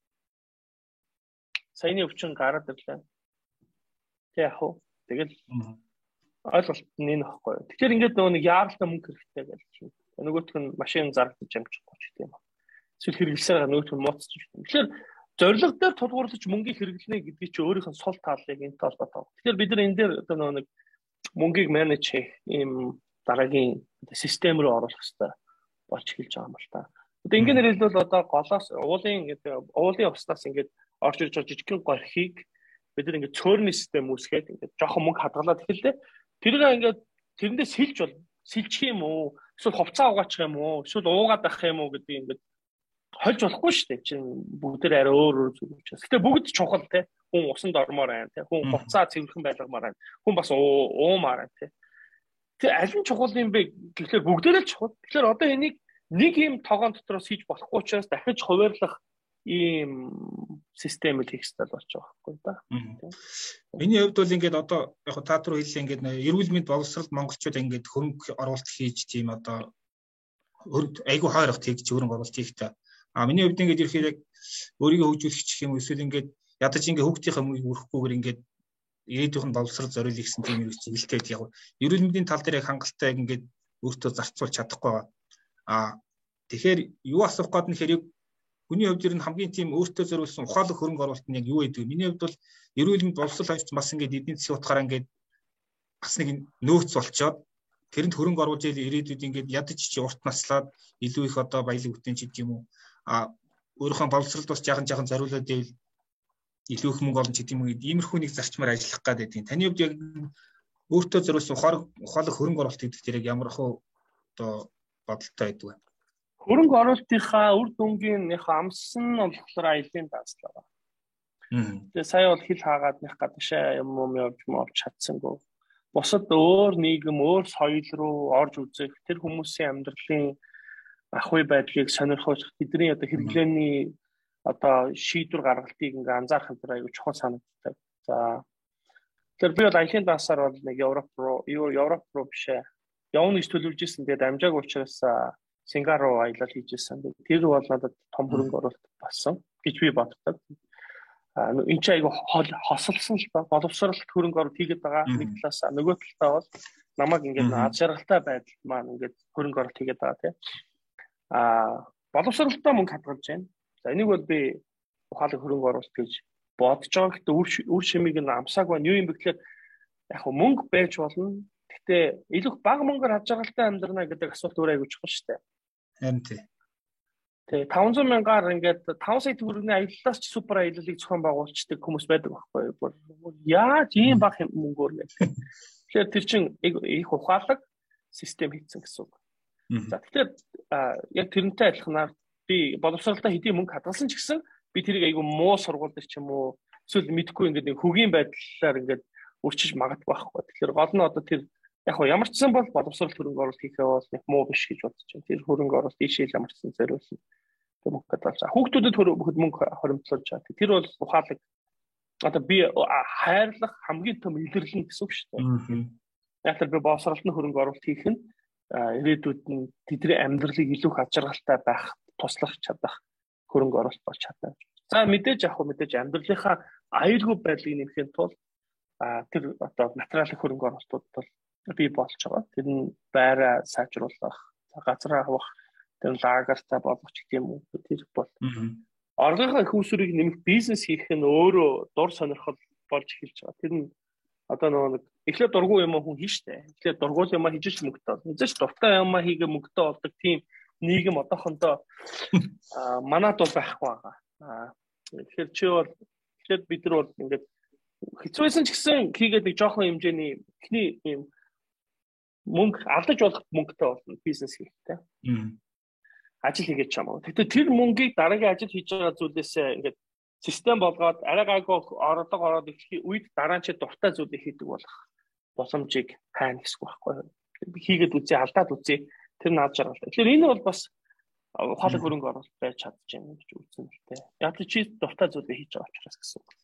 Саяны өвчин гараад ирлээ. Тэг яг уу. Тэгэл ойлголт нь энэ баггүй. Тэгэхээр ингээд нөгөө нэг яаралтай мөнгө хэрэгтэй гэж чинь. Нөгөөх нь машин зарагдаж амжихгүй ч гэдэг юм. Эсвэл хэрэглэсээр нөгөөх нь мууцч юм. Тэгэхээр зорилго дээр тулгуурлаж мөнгийг хэрэглэнэ гэдгийг чи өөрийнх нь сул тааллыг энэ толгойтой. Тэгэхээр бид нар энэ дээр одоо нэг мөнгийг менеж хийх ийм дараагийн систем рүү оруулах хэрэгтэй болж эхэлж байгаа юм л та. Одоо ингээд хэлбэл одоо голоос уулын гэдэг уулын уснаас ингээд орж ирж байгаа жижигхэн горхийг бид нар ингээд цөөрний систем үүсгээд ингээд жоохон мөнгө хадгалаад эхэллээ. Тэрийг ингээд тэрэндээ сэлж бол сэлчих юм уу? Эсвэл хувцас угаачих юм уу? Эсвэл уугаад байх юм уу гэдэг ингээд хольж болохгүй шүү дээ. Чин бүгдээр арай өөр өөр зүйл учраас. Гэтэ бүгд чухал те. Хүн усанд ормоор байна те. Хүн хувцас цэвэрхэн байлгамаар байна. Хүн бас уумаар байна те. Тэг аль нь чухал юм бэ гэхлээр бүгдээрээ чухал. Тэгэхээр одоо энийг нэг юм тогоон дотроос хийж болохгүй учраас дахиж хуваарлах ийм системэл хийх хэрэгтэй болж байгаа байхгүй да. Миний хувьд бол ингээд одоо яг та түр хэллээ ингээд эрүүл мэнд боловсролд монголчууд ингээд хөрөнгө оруулалт хийж тийм одоо айгүй хойрогт хийж хөрөнгө оруулалт хийхтэй. А миний хувьд ингээд ирэхээр яг өөрийгөө хөгжүүлэх гэх юм эсвэл ингээд ядаж ингээд хүүхдийнхээ мөнгөийг өрөхгүйгээр ингээд ирээдүйн боловсрол зориулъя гэсэн тийм юм чиглэлтэй яг эрүүл мэндийн тал дээр яг хангалттай ингээд өөртөө зарцуулж чадахгүй байгаа. А тэгэхээр юу асуух гээд нэхэр хүний хувьд ер нь хамгийн тийм өөртөө зориулсан ухаалаг хөрөнгө оруулалт нь яг юу гэдэг вэ? Миний хувьд бол эрүүл мэнд боловсрол авч бас ингээд эдийн засгийн утгаараа ингээд бас нэг нөөц болцоод тэрэнд хөрөнгө оруулж ирээдүйд ингээд ядаж чи урт наслаад илүү их одоо баялаг бүтээн ч гэдэг юм уу. А өөрийнхөө боловсролд бас жаахан жаахан зориулаад ивэл илүү их мөнгө олно ч гэдэг юм уу. Иймэрхүү нэг зарчмаар ажиллах гэдэг юм. Таны хувьд яг өөртөө зориулсан ухаалаг ухаалаг хөрөнгө оруулалт гэдэг тэр яг ямар хөө одоо бодолтой байдаг вэ? Хөрөнгө оруулалтынхаа үр дүнгийн нэг амссан нь болохоор аялын дааслаа. Тэгээ сая бол хил хаагаад нэг гадагшаа юм юм явж мовч чадсангүй. Бусад өөр нийгэм, өөр соёл руу орж үзэх тэр хүмүүсийн амьдралын ахуй байдлыг сонирхож тэдний одоо хэрэглээний одоо шийдвэр гаргалтыг ингээ анзаарах энэ аюу чухал санагддаг. За Тэр би бол ажлын даасаар бол нэг Европ руу, Европ руу бишээ. Явна гэж төлөвлөж исэн. Тэгээд амжаагүй учраас Сингапур руу аялал хийж исэн. Тэр бол надад том хөрөнгө оруулалт болсон гэж би боддог. А энэ ч айгу хосолсон л ба боловсролт хөрөнгө оруулалт хийгээд байгаа нэг талаас нөгөө талаа бол намайг ингээд аз жаргалтай байдал маань ингээд хөрөнгө оруулалт хийгээд байгаа тийм. А боловсролтой мөнгө хадгалж байна. За энийг бол би ухаалаг хөрөнгө оруулалт гэж бодож байгаа. Гэхдээ үр шимийг нь амсааг байна. Юу юм бэ гэхээр яг хөө мөнгө байж болно. Гэхдээ илүү бага мөнгөөр аз жаргалтай амьдрна гэдэг асуулт өөрөө айгу чухал шүү дээ. Харин тий. Тэгээ таван зуун мянгаар ингээд таван сая төгрөгийн аяллаас ч супер аяллыг зохион байгуулцдаг хүмүүс байдаг байхгүй юу? Яаж ийм бага мөнгөөр гэдэг. Тэгэхээр тэр чинь их ухаалаг систем хийсэн гэсэн үг. За тэгэхээр яг тэрнтэй адилханаар би боловсролтой хэдийн мөнгө хадгалсан ч гэсэн би тэрийг айгу муу сургууль дээр ч юм уу эсвэл мэдхгүй ингээд хөгийн байдлаар ингээд өрчиж магадгүй байхгүй. Тэгэхээр гол нь одоо тэр яг хоо ямар ч сан бол боловсрол хөрөнгө оруулалт хийхээ бол нэг муу биш гэж бодож байна. Тэр хөрөнгө оруулалт ийшээ ямар ч сан зориулсан. Тэр мөнгө хадгалж байгаа. Хүүхдүүдэд мөнгө хоримтлуулж байгаа. Тэр бол ухаалаг одоо би хайрлах хамгийн том илэрлэн гэсэн үг шүү дээ. Яг л би боловсролтын хөрөнгө оруулалт хийх нь ирээдүйд нь тэдний амьдралыг илүү их ачааргалтай байх, туслах чадах хөрөнгө оруулалт болж чадна. За мэдээж яг хөө мэдээж амьдралынхаа аюулгүй байдлыг нэмэхийн тулд тэр одоо материалын хөрөнгө оруулалтууд бол бий болж байгаа. Тэр нь байраа сайжруулах, газар авах, тэр лагертай болгох гэх юм уу. Тэр бол оргийнхаа их усрыг нэмэх бизнес хийх нь өөрөө дур сонирхол болж эхэлж байгаа. Тэр нь одоо нэг эхлээд дургуй юм хүн хийн штэ. Эхлээд дургуй юм хийж мөнгөтэй бол. Эцэж дуртай юм хийгээ мөнгөтэй болдог тийм нийгэм одоохондоо манад бол байхгүй байгаа. Тэгэхээр чи бол эхлээд бид нар бол ингээд хэцүүсэн ч гэсэн хийгээд нэг жоохон хэмжээний ихний юм мөнгө алдаж болох мөнгөтэй болно бизнес хийхдээ. Ажил хийгээд ч юм уу. Тэгтээ тэр мөнгийг дараагийн ажил хийж байгаа зүйлээсээ ингээд систем болгоод арай гайгүй ородог ороод их үед дараа нь чи дуртай зүйлийг хийдэг болох боломжийг хайна гэсэн үг байхгүй юу. Хийгээд үзье, алдаад үзье. Тэр наад жаргалтай. Тэгэхээр энэ бол бас ухаалаг хөрөнгө оруулалт байж чадчихна гэж үзсэн л дээ. Яг л чи дуртай зүйлийг хийж байгаа учраас гэсэн үг.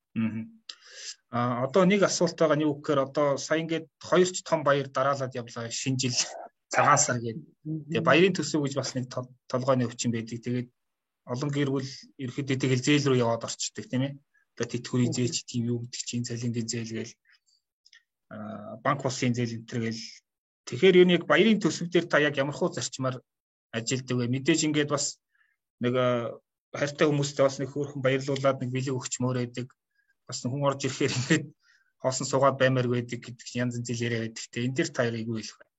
Аа одоо нэг асуулт байгаа нь юу гэхээр одоо сая ингээд хоёр ч том баяр дараалаад явлаа шинэ жил цагаан сар гэдэг. Тэгээ баярын төсөв гэж бас нэг толгойн өвчин байдаг. Тэгээд олон гэр бүл ерөөхдөө тэгэл зээл рүү яваад орчдөг тийм ээ. Одоо тэтгэврийн зээл ч тийм юу гэдэг чинь цалингийн зээл гээл аа банк улсын зээл энэ төр гээл. Тэгэхээр юу нэг баярын төсөв дээр та яг ямар хуу зарчмаар ажилддаг вэ? Мэдээж ингээд бас нэг хайртай хүмүүстэй бас нэг хөөрхөн баярлуулад нэг бэлэг өгч мөрөөдөг. Бас хүн орж ирэхээр ингээд хоосон суугаад баймаар байдаг гэдэг янз янз зээл яриа байдаг. Тэгээ энэ дэр та яриг юу хэлэх вэ?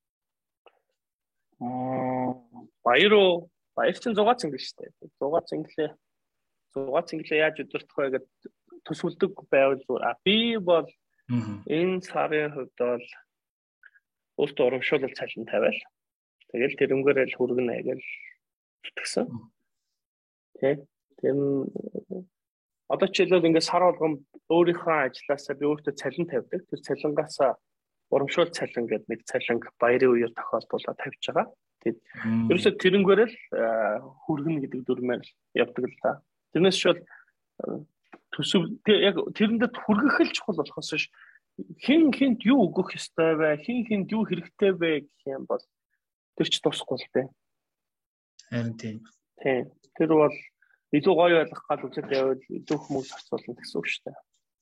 Аа баяр уу? Баяр чинь зугаа цэнгэл шүү дээ. Зугаа цэнгэлээ. Зугаа цэнгэлээ яаж өдөртөх вэ гэдэг төсвөлдөг байвал зүгээр. А би бол энэ сарын хувьд бол өөртөө урамшуулал цалин тавиал. Тэгэл тэрнгээрээ л хүргэнэ гэж зүтгэсэн. Тэ. Тэм одоо ч хэлбэл ингээд сар болгон өөрийнхөө ажилласаа би өөртөө цалин тавьдаг. Тэр цалингаас урамшуул цалин гэдэг нэг цалин баярын үеэр тохиолдуулаад тавьж байгаа. Тэгээд ерөөсөө тэрнгээрээ л хүргэнэ гэдэг дүрмээр явдаг л та. Тэрнээс ч бол төсөв яг тэрэндээ хүргэх л чухал болохоос ш хин хинт юу өгөх ёстой вэ? Хин хинт юу хэрэгтэй вэ гэх юм бол тэр ч тусахгүй л дээ. Харин тийм. Тийм. Тэр бол илүү гоё ойлгох гал үзэл явал илүү хүмүүс харцуулна гэсэн үг шүү дээ.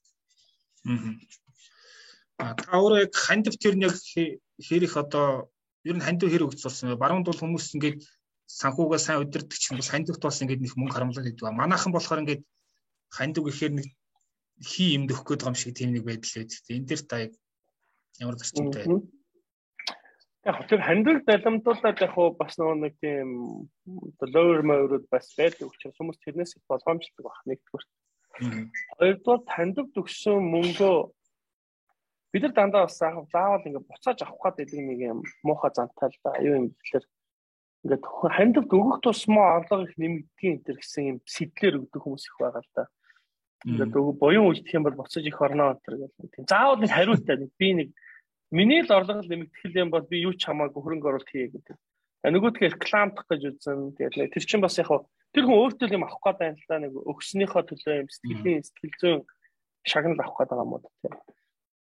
Аа. Та өөрөө яг хандив тэр нэг хэрэг одоо ер нь хандив хэрэг өгцүүлсэн бай. Баруунд бол хүмүүс ингээд санхугаа сайн удирдах чинь бас хандивт бас ингээд нэг мөнгө харамлаад идэв. Манайхан болохоор ингээд хандив гэхээр нэг хий юмд өгөх гээд байгаа юм шиг тийм нэг байдал байдаг. Энэ дэр та ямар зарчимтай байна? Яг тэр хандив даламдуулаад яг хуу бас нэг тийм lower mode бас байдаг учраас хүмүүс тэрнээс их болгоомжтой баг нэгдүгээр. Хоёрдугаар хандив төгссөн мөнгөө бид нар дандаа бас заавал ингээд буцааж авах гэдэг нэг юм муухай зантай л да. Юу юм гэхээр ингээд хандивт өгөх тусмаа орлого их нэмэгдгийн энэ төр гэсэн юм сэтлэр өгдөг хүмүүс их байгаа л да. Ингээд буян үйлдэх юм бол буцааж их орноо энэ гэх тийм. Заавал нэг хариутай нэг би нэг миний л орлого нэмэгдэх юм бол би юу ч хамаагүй хөрөнгө оруулалт хийе гэдэг. Нөгөөдгөө рекламдах гэж үзэн. Тэгээд тэр чинь бас яг тэр хүн өөртөө юм авах гэдэг юм л да. Нэг өгснийхөө төлөө юм сэтгэлийн сэтгэл зүйн шагнал авах гэдэг юм уу тийм.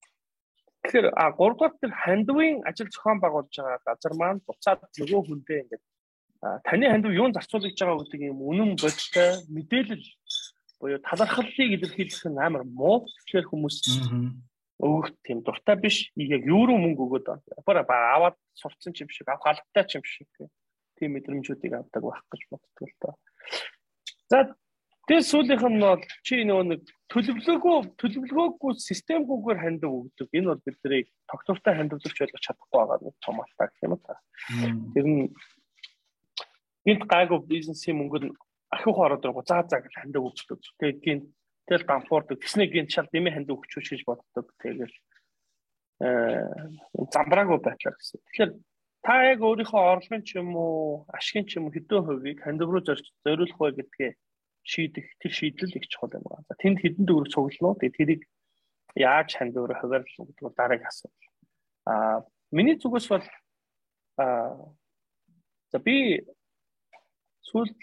Тэгэхээр а гуравдугаар тэр хандивын ажил зохион байгуулж байгаа газар маань буцаад нөгөө хүндээ ингээд таны хандив юунд зарцуулж байгаа гэдэг юм үнэн бодтой мэдээлэл буюу талархлыг илэрхийлэх нь амар муу. Тэгэхээр хүмүүс өөх тийм дуртай биш. Яг юу руу мөнгө өгөөд байна. Аваад сурцсан ч юм шиг, авах албатай ч юм шиг тийм мэдрэмжүүдийг авдаг байх гэж боддог л доо. За тэгээ сүүлийнх нь бол чи нөгөө нэг төлөвлөгөө төлөвлөгөөгүй системгүйгээр хандив өгдөг. Энэ бол бидний тогтвортой хандивлагч болгож чадахгүй байгаа нэг том алдаа гэх юм та. Тэр нь гинт гайгүй бизнесийн мөнгөнд ахиух ороод байгаа заа заа гэж хандив өгдөг. Тэгээд гинт тэл дампуурдаг. Тэсний гинт шал дэмий хандив өгчүүч гэж боддог. Тэгээд э замбраагүй байтлаа гэсэн. Тэгэхээр та яг өөрийнхөө орлогын ч юм уу, ашигын ч юм уу хэдэн хувийг хандив руу зориулах вэ гэдгээ шийдэх тэр шийдэл их чухал юм байна. За тэнд хэдэн төгрөг цуглануу. Тэгээд тэрийг яаж хандив руу хуваарлах гэдэг бол дараагийн асуудал. Аа миний зүгээс бол аа за би сүүл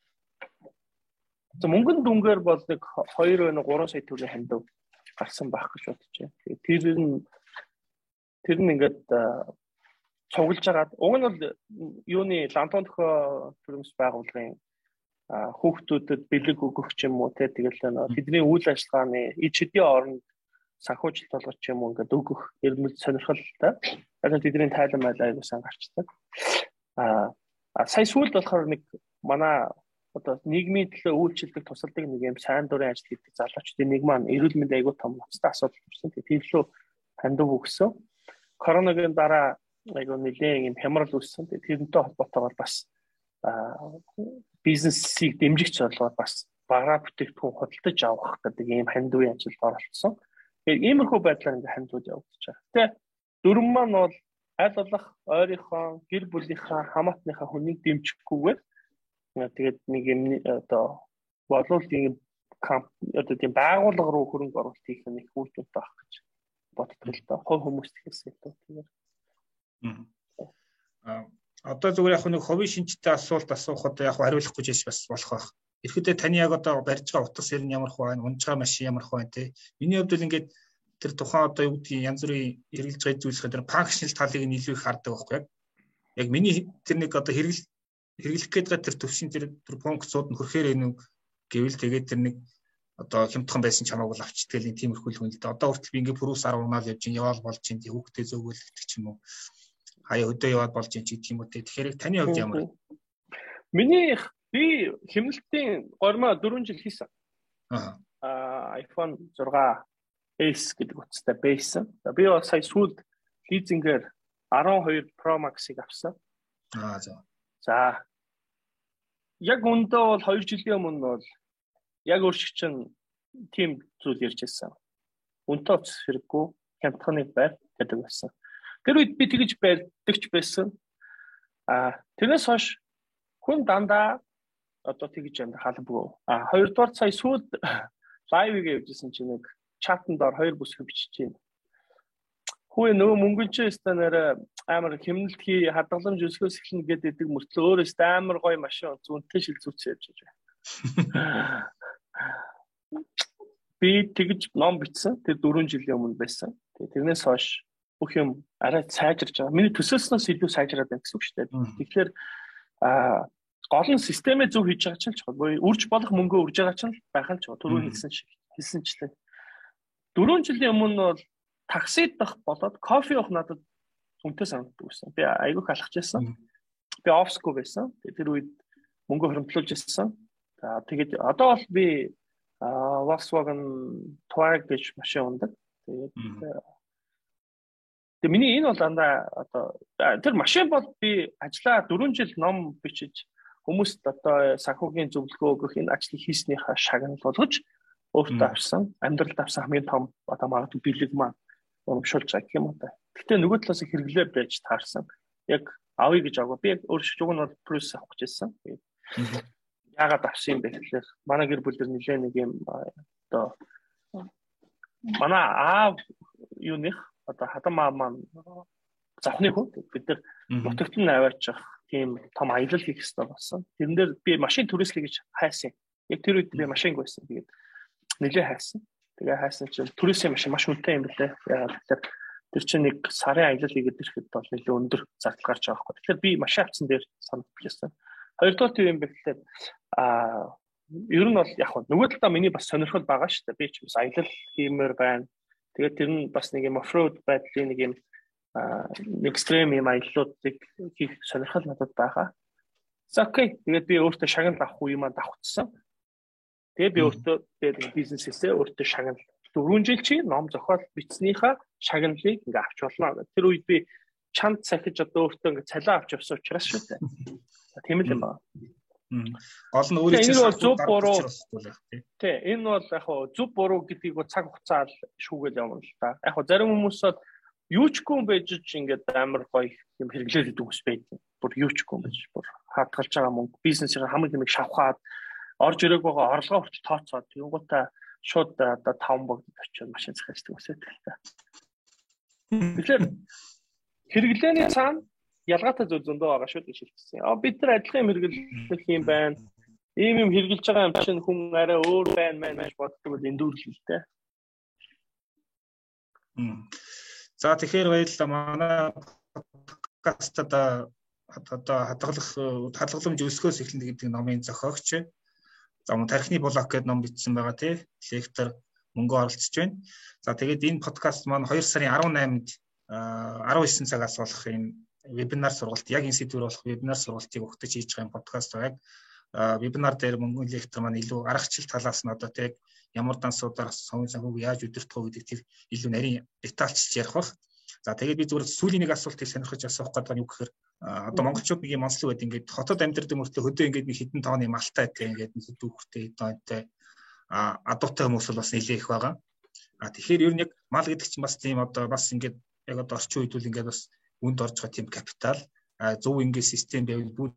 за мөнгөн дүнгээр бол нэг хоёр вэ гурван сая төгрөгийн хандив гарсан байх гэж бодож байна. Тэгээд тэр нь тэр нь ингээд цуглаж агаад уг нь бол юуны лантон төхөө төрөмс байгууллагын хүүхдүүдэд бэлэг өгөх ч юм уу те тэгэл бидний үйл ажиллагааны ид шидийн оронд санхүүжилт болгох ч юм уу ингээд өгөх эрмэл сонирхолтой. Яг нь тэдний тайлан майл аяасан гарчдаг. Аа сая сүүлд болохоор нэг манай одоо нийгмийн төлөө үйлчлдэг тусалдаг нэг юм сайн дурын ажил хийдэг залуучдын нэг маань эрүүл мэндийн аягүй том ноцтой асуудал төрсөн. Тэгээд тэрлөө хандив өгсөн. Коронавигийн дараа айгүй нэлээд юм хямрал үүссэн. Тэгээд тэрнтэй холбоотойгоор бас бизнесийг дэмжигч болгоод бас бараа бүтээгдэхүүн худалдаж авах гэдэг ийм хандивын ажилд оролцсон. Тэгээд иймэрхүү байдлаар ингээ хандивууд явагдаж байгаа. Гэтэ дөрвөн маань бол аль болох ойрынхоо гэр бүлийнхаа хамаатныхаа хүнийг дэмжихгүйгээр тэгээд нэг юм одоо боловлын камп одоо тийм байгууллага руу хөрөнгө оруулалт хийх нь их үр дүнтэй байх гэж боддог л доо. Хов хүмүүст ихээсээ тэгээд. Аа одоо зүгээр яг нэг ховын шинжтэй асуулт асуухад яг хариулахгүй ч бас болох байх. Ихэдээ таны яг одоо барьж байгаа утас ер нь ямар их байна, унж байгаа машин ямар их байна те. Миний хувьд л ингээд тэр тухайн одоо юу гэдгийг янз бүрийн хэрэгжилж байгаа зүйлсээр тэр функшнл талыг нь илүү их хардаг байхгүй яг. Яг миний тэр нэг одоо хэрэгэл хэрэглэх гээд байгаа тэр төвшин тэр тэр функцууд нь хөрөхээр энэ гэвэл тэгээд тэр нэг одоо хямдхан байсан чамааг бол авчдаг л тиймэрхүү л хүн л дээ. Одоо хүртэл би ингээд пүрүүс арга унаал явж ин яваал болж ин хүүхдээ зөөгөлдөх ч юм уу. Хаяа өдөө яваад болж ин ч гэх юм уу те. Тэгэхээр таны хувьд ямар вэ? Миний би хэмнэлтийн гормоо дөрвөн жил хийсэн. Аа. Аа iPhone сикс S гэдэг утастай байсан. Би бол сая сүүлд лизингээр арван хоёр Pro Max-ыг авсан. Аа за. За. Яг өндөө бол хоёр жилийн өмнө бол яг өөрчг чинь тийм зүйл ярьж байсан. Үнэтэй утас хэрэггүй, хямдханыг байр гэдэг байсан. Тэр үед би тэгж байдагч байсан. Аа тэрнээс хойш хүн дандаа одоо тэгж юм халбгүй. Аа хоёрдугаар сая сүүлд лайвыг явуулсан чинь нэг чатанд ор хоёр бүсгүй бичиж байна. Хүү нөгөө мөнгөн чинь станаар амар хэмнэлт хий хадгаламж өсгөөс эхлэн гэдэг мөртлөө өөрөөс амар гоё машин зүүнтэй шилжүүлсэн явж байгаа. Би тэгж ном бичсэн. Тэр дөрвөн жилийн өмнө байсан. Тэрнээс хойш бүх юм арай сайжирч байгаа. Миний төсөөлснөөс илүү сайжраад байна гэсэн үг шүү дээ. Тэгэхээр аа гол нь системээ зөв хийж байгаа чинь ч гоё үрж болох мөнгөө үрж байгаа чинь байх нь ч түрүү хэлсэн шиг хэлсэнчлээ. Дөрвөн жилийн өмнө бол таксид дах болоод кофе уух надад үнэтэй санагддаг байсан. Би айгүйх алхаж байсан. Би офсгүй байсан. Тэр үед мөнгө хөрөмтлүүлж байсан. За тэгээд одоо бол би Volkswagen Touareg гэж машин ундаг. Тэгээд тэгээд миний энэ бол дандаа одоо тэр машин бол би ажиллаа дөрвөн жил ном бичиж хүмүүст одоо санхүүгийн зөвлөгөө өгөх энэ ажлыг хийснийхаа шагнал болгож өөртөө авсан. Амьдралд авсан хамгийн том одоо магадгүй бэлэг маань урамшуулж байгаа юм уу та. Гэтэ нөгөө талаас хэрэглээ байж таарсан. Яг авъя гэж аваа. Би өөр шүүг нь бол плюс авах гэжсэн. Яагаад авсан юм бэ гэхээр манай гэр бүлээр нэлээ нэг юм одоо манай аав юуных одоо хадамаа маань завхны хүн бид нар нутагт нь аваачих тийм том аялал хийх хэрэгтэй болсон. Тэрэн дээр би машин түрээслэе гэж хайсан. Яг тэр үед би машинг байсан. Тэгээд нэлээ хайсан. Тэгээ хайсан чинь түрээсийн машин маш үнэтэй юм билээ. Яагаад гэхээр Тэр чинь нэг сарын аялал хийгээд ирэхэд бол нэлээд өндөр зардал гарч байгаа байхгүй. Тэгэхээр би машин авсан дээр санал билсэн. Хоёрдугаар тийм юм бэ гэхэлээ а ер нь бол яг хөө нөгөө талдаа миний бас сонирхол байгаа шүү дээ. Би ч бас аялал хиймээр байна. Тэгээд тэр нь бас нэг юм оффроуд байдлын нэг юм экстрем юм аяллуудыг хийх сонирхол надад байгаа. За окей. Тэгээд би өөртөө шагнал авах үе маань давхцсан. Тэгээд би өөртөө тэгээд бизнесээсээ өөртөө шагнал дөрвөн жил чи ном зохиол бичснийхаа шагналыг ингээ авч болно. Тэр үед би чамд сахиж одоо өөртөө ингээ цалин авч явсан учраас шүү дээ. Тийм л юм байна. Гол нь өөрийн чинь зөв буруу тий энэ бол яг хоо зөв буруу гэдгийг цаг хугацаа шүүгээл явна л та. Яг хоо зарим хүмүүс бол юу ч гүн байж ч ингээд амар гоё юм хэрэглээд идэг ус байдаг. Бүр юу ч гүн байж бүр хатгалж байгаа мөнгө бизнесийн хамгийн тэмэг шавхаад орж ирэх байгаа орлогоо хүртэл тооцоод тэгэнгүүтээ шууд одоо таван богд очиод машин захиалдаг ус байдаг л та. Тэгэхээр хэрэглээний цаана ялгаатай зүйл зөндөө байгаа шүү гэж хэлсэн. А бид нар адилхан юм хэрэглэх юм байна. Ийм юм хэрэгжилж байгаа юм чинь хүн арай өөр байна мэн гэж боддог бол эндүүрл л дээ. За тэгэхээр баярлалаа. Манай подкастад одоо хадгалах хадгаламж өсгөөс эхлэнэ гэдэг номын зохиогч. За мөн тархины блог гэдэг ном бичсэн байгаа тий. Лектор мөнгө оролцож байна. За тэгээд энэ подкаст маань хоёр сарын арван найманд арван есөн цагаас болох энэ вебинар сургалт яг энэ сэдвээр болох вебинар сургалтыг өгтөж хийж байгаа подкаст байг. Вебинар дээр мөнгөний лектор маань илүү аргачлал талаас нь одоо тэг ямар дансуудаар совын санхүүг яаж удирдах вэ гэдэг тэр илүү нарийн детальчилж ярих бах. За тэгээд би зүгээр сүүлийн нэг асуултыг сонирхож асуух гэдэг нь юу гэхээр одоо монголчууд нэг юм онцлог байд ингээд хотод амьдардаг мөртөө хөдөө ингээд нэг хитэн тооны малтай гэдэг ингээд дүүхтэй хэдэнтэй а адуутай хүмүүс бол бас нэлээ их байгаа. А тэгэхээр ер нь яг мал гэдэг чинь бас тийм одоо бас ингээд яг одоо орчин үед үл ингээд бас үнд орж байгаа тийм капитал зөв ингээд систем байвал бүр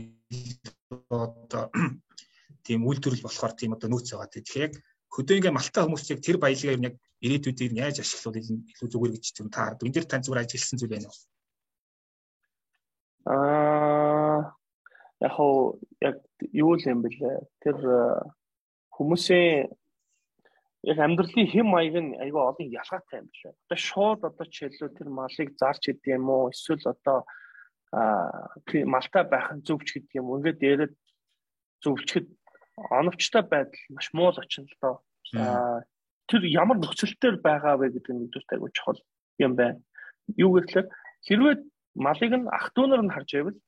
одоо тийм үйлдвэрлэл болохоор тийм одоо нөөц байгаа. Тэгэхээр яг хөдөө ингээд малтай хүмүүс яг тэр баялагаа ер нь яг ирээдүйд нь яаж ашиглах вэ илүү зүгээр гэж тийм та энэ дэр тань зүгээр ажилласан зүйл байна уу? Аа яг хоо яг юу л юм бэлээ. Тэр хүмүүсийн яг амьдралын хэм маяг нь айгүй олон ялгаатай юм билээ. Одоо шууд одоо жишээлбэл тэр малыг зарч идэв юм уу? Эсвэл одоо аа малтай байх нь зөвч гэдэг юм. Ингээд яриад зөвчгэд оновчтой байдал маш муу л очино л доо. Аа тэр ямар нөхцөлтөөр байгаа вэ гэдэг нь мэдүүрт айгүй чухал юм байна. Юу гэхээр хэрвээ малыг нь ах дүүнэр нь харж байвал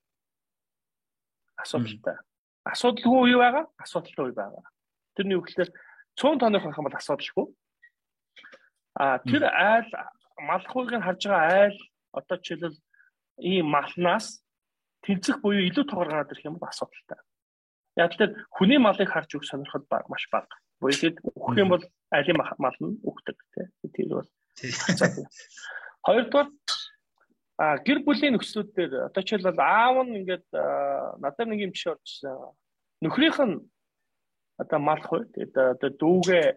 асуудалтай. Асуудалгүй юу байгаа? Асуудалтай үе байгаа. Тэрний үг гэхээр цөөн тооных байх юм бол асуудалгүй. А тэр айл малхыг нь харж байгаа айл одоо жишээлбэл ийм малнаас тэнцэх буюу илүү тоогоор гараад ирэх юм бол асуудалтай. Яг тэр хүний малыг харж өгөх сонирхол маш бага. Буюу тэгэд өгөх юм бол айлын мал нь өгдөг тийм. Тэр бол. Хоёрдугаар а гэр бүлийн нөхцлүүдээр одоо жишээлбэл аав нь ингээд надад нэг юм жишээ орчихсон. Нөхрийнх нь одоо малх уу тэгээд одоо дүүгээ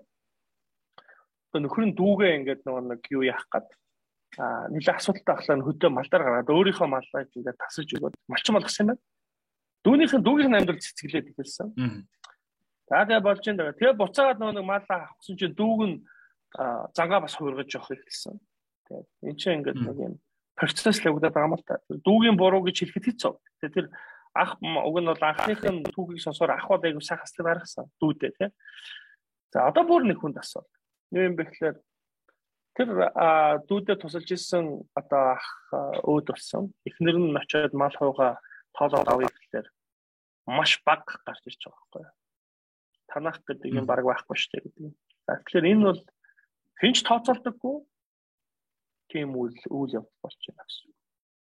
одоо нөхөр нь дүүгээ ингээд нэг юу яах гээд а нэлээ асуудалтай ахлаа хөдөө малдаар гараад өөрийнхөө маллаа ингээд тасаж өгөөд малчин болгосон юм байна. Дүүнийхэн дүүгийн амьдрал цэцгэлээд эхэлсэн. За тэгээ болж энэ тэгээ буцаагаад нэг маллаа авахсан чинь дүүг нь зангаа бас хуургаж явах эхэлсэн. Тэгээд энэ чинь ингээд нэг юм процесс л өгдөг байгаа юм л та. Дүүгийн буруу гэж хэлэхэд хэцүү. Тэгээд тэр ах уг нь бол анхных нь түүхийг сонсоор ах бол айгу сайхан хасдаг гаргасан дүүдээ тий. За одоо бүр нэг хүнд асуулт. Юу юм бэ гэхээр тэр дүүдээ тусалж исэн одоо ах өөд болсон. Эхнэр нь очиод мал хууга тоолоод авъя гэхээр маш бага гарч ирж байгаа байхгүй юу. Танах гэдэг юм баг байхгүй шүү дээ гэдэг. За тэгэхээр энэ бол хинч тооцоолдоггүй тийм үйл үйл явдал болж байна гэсэн.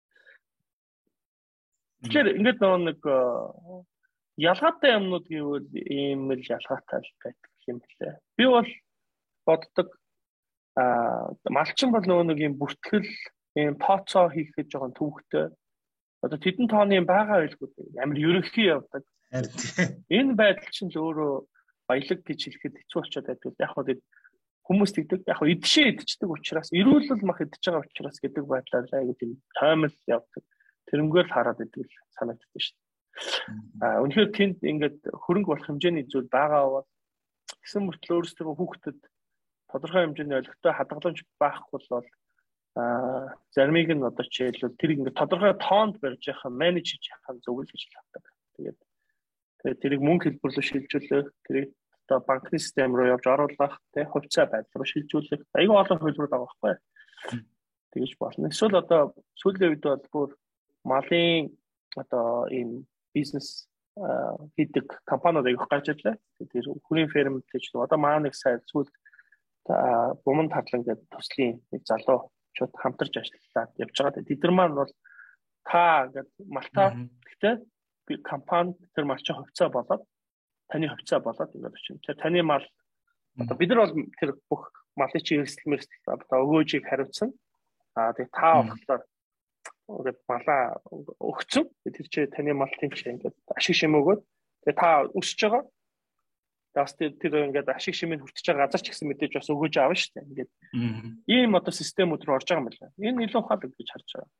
Тэгэхээр ингээд нэг ялгаатай юмнууд гэвэл ийм л ялгаатай байдаг юм билээ. Би бол боддог а малчин бол нөгөө нэг юм бүртгэл ийм тооцоо хийх гэж байгаа түүхтэй. Одоо тэдэн тооны байгаа байлгүй амар ерөнхий явдаг. Энэ байдал чинь л өөрөө баялаг гэж хэлэхэд хэцүү болчиход байдаг. Яг хоо хүмүүс тэгдэг. Яг хоо идшээ идчихдэг учраас эрүүлэл мах идчихэж байгаа учраас гэдэг байдлаар айгүй тийм тоймол явдаг. Тэрнгээр л хараад идэг л санагддаг шүү дээ. Аа үнэхээр тэнд ингээд хөрөнгө болох хэмжээний зүйл байгаа бол гэсэн мөртлөө өөрсдөө хүүхдэд тодорхой хэмжээний олигтой хадгаламж байхгүй бол Аа заримыг нь одоо жишээлбэл тэр ингээд тодорхой тоонд барьж яхаа менеж хийж яхаа зөвлөж авдаг. Тэгээд тэгээд тэрийг мөнгө хэлбэрлүү шилжүүлэх, тэрийг одоо банкны систем руу явж оруулах, тэ хувьцаа байдал руу шилжүүлэх. Аюу олон хөлбөр байгаа байхгүй. Тэгэж болно. Эсвэл одоо сүүлийн үед бол бүр малын одоо ийм бизнес хийдэг компаниуд аяг гарч ирлээ. Тэр хүний ферм гэж одоо маа нэг сайд сүүл буман татлан гэдэг төслийн нэг залуу чууд хамтарч ажиллаад явж байгаа. Тэд нар маань бол та гэдэг малтаа гэхдээ компани тэр малчин хувьцаа болоод таны хувьцаа болоод ингээд очив. Тэр таны мал одоо бид нар бол тэр бүх малын чи эрсдэл мэрсдэл одоо өгөөжийг хариуцсан. Аа тэгээ та болохоор ингээд малаа өгцөн. Тэр чи таны мал тийм чи ингээд ашиг шим өгөөд тэгээ та өсөж байгаа. Тэгээс тэр ингээд ашиг шимийг хүртэж байгаа газар ч гэсэн мэдээж бас өгөөж аавна шүү дээ. Ингээд ийм одоо системүүд рүү орж байгаа юм байна. Энэ илүү ухаалаг гэж харж байгаа.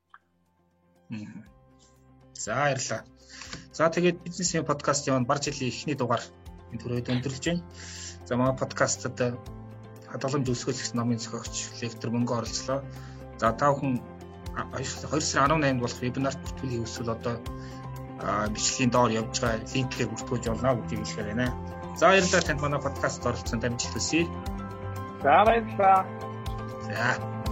За баярлалаа. За тэгээд бизнесийн подкаст яваа бар жилийн эхний дугаар энэ төрөйд өндөрлөж байна. За манай подкастад хадгаламж өсгөх номын зохиогч лектор мөнгө оролцлоо. За та бүхэн хоёр сарын арван наймд болох вебинарт бүртгүүлэх хүсвэл одоо бичлэгийн доор явж байгаа линкээр бүртгүүлж болно гэдгийг хэлэхээр байна. За баярлалаа танд манай подкаст оролцсон дамжуулсан. За баярлалаа. За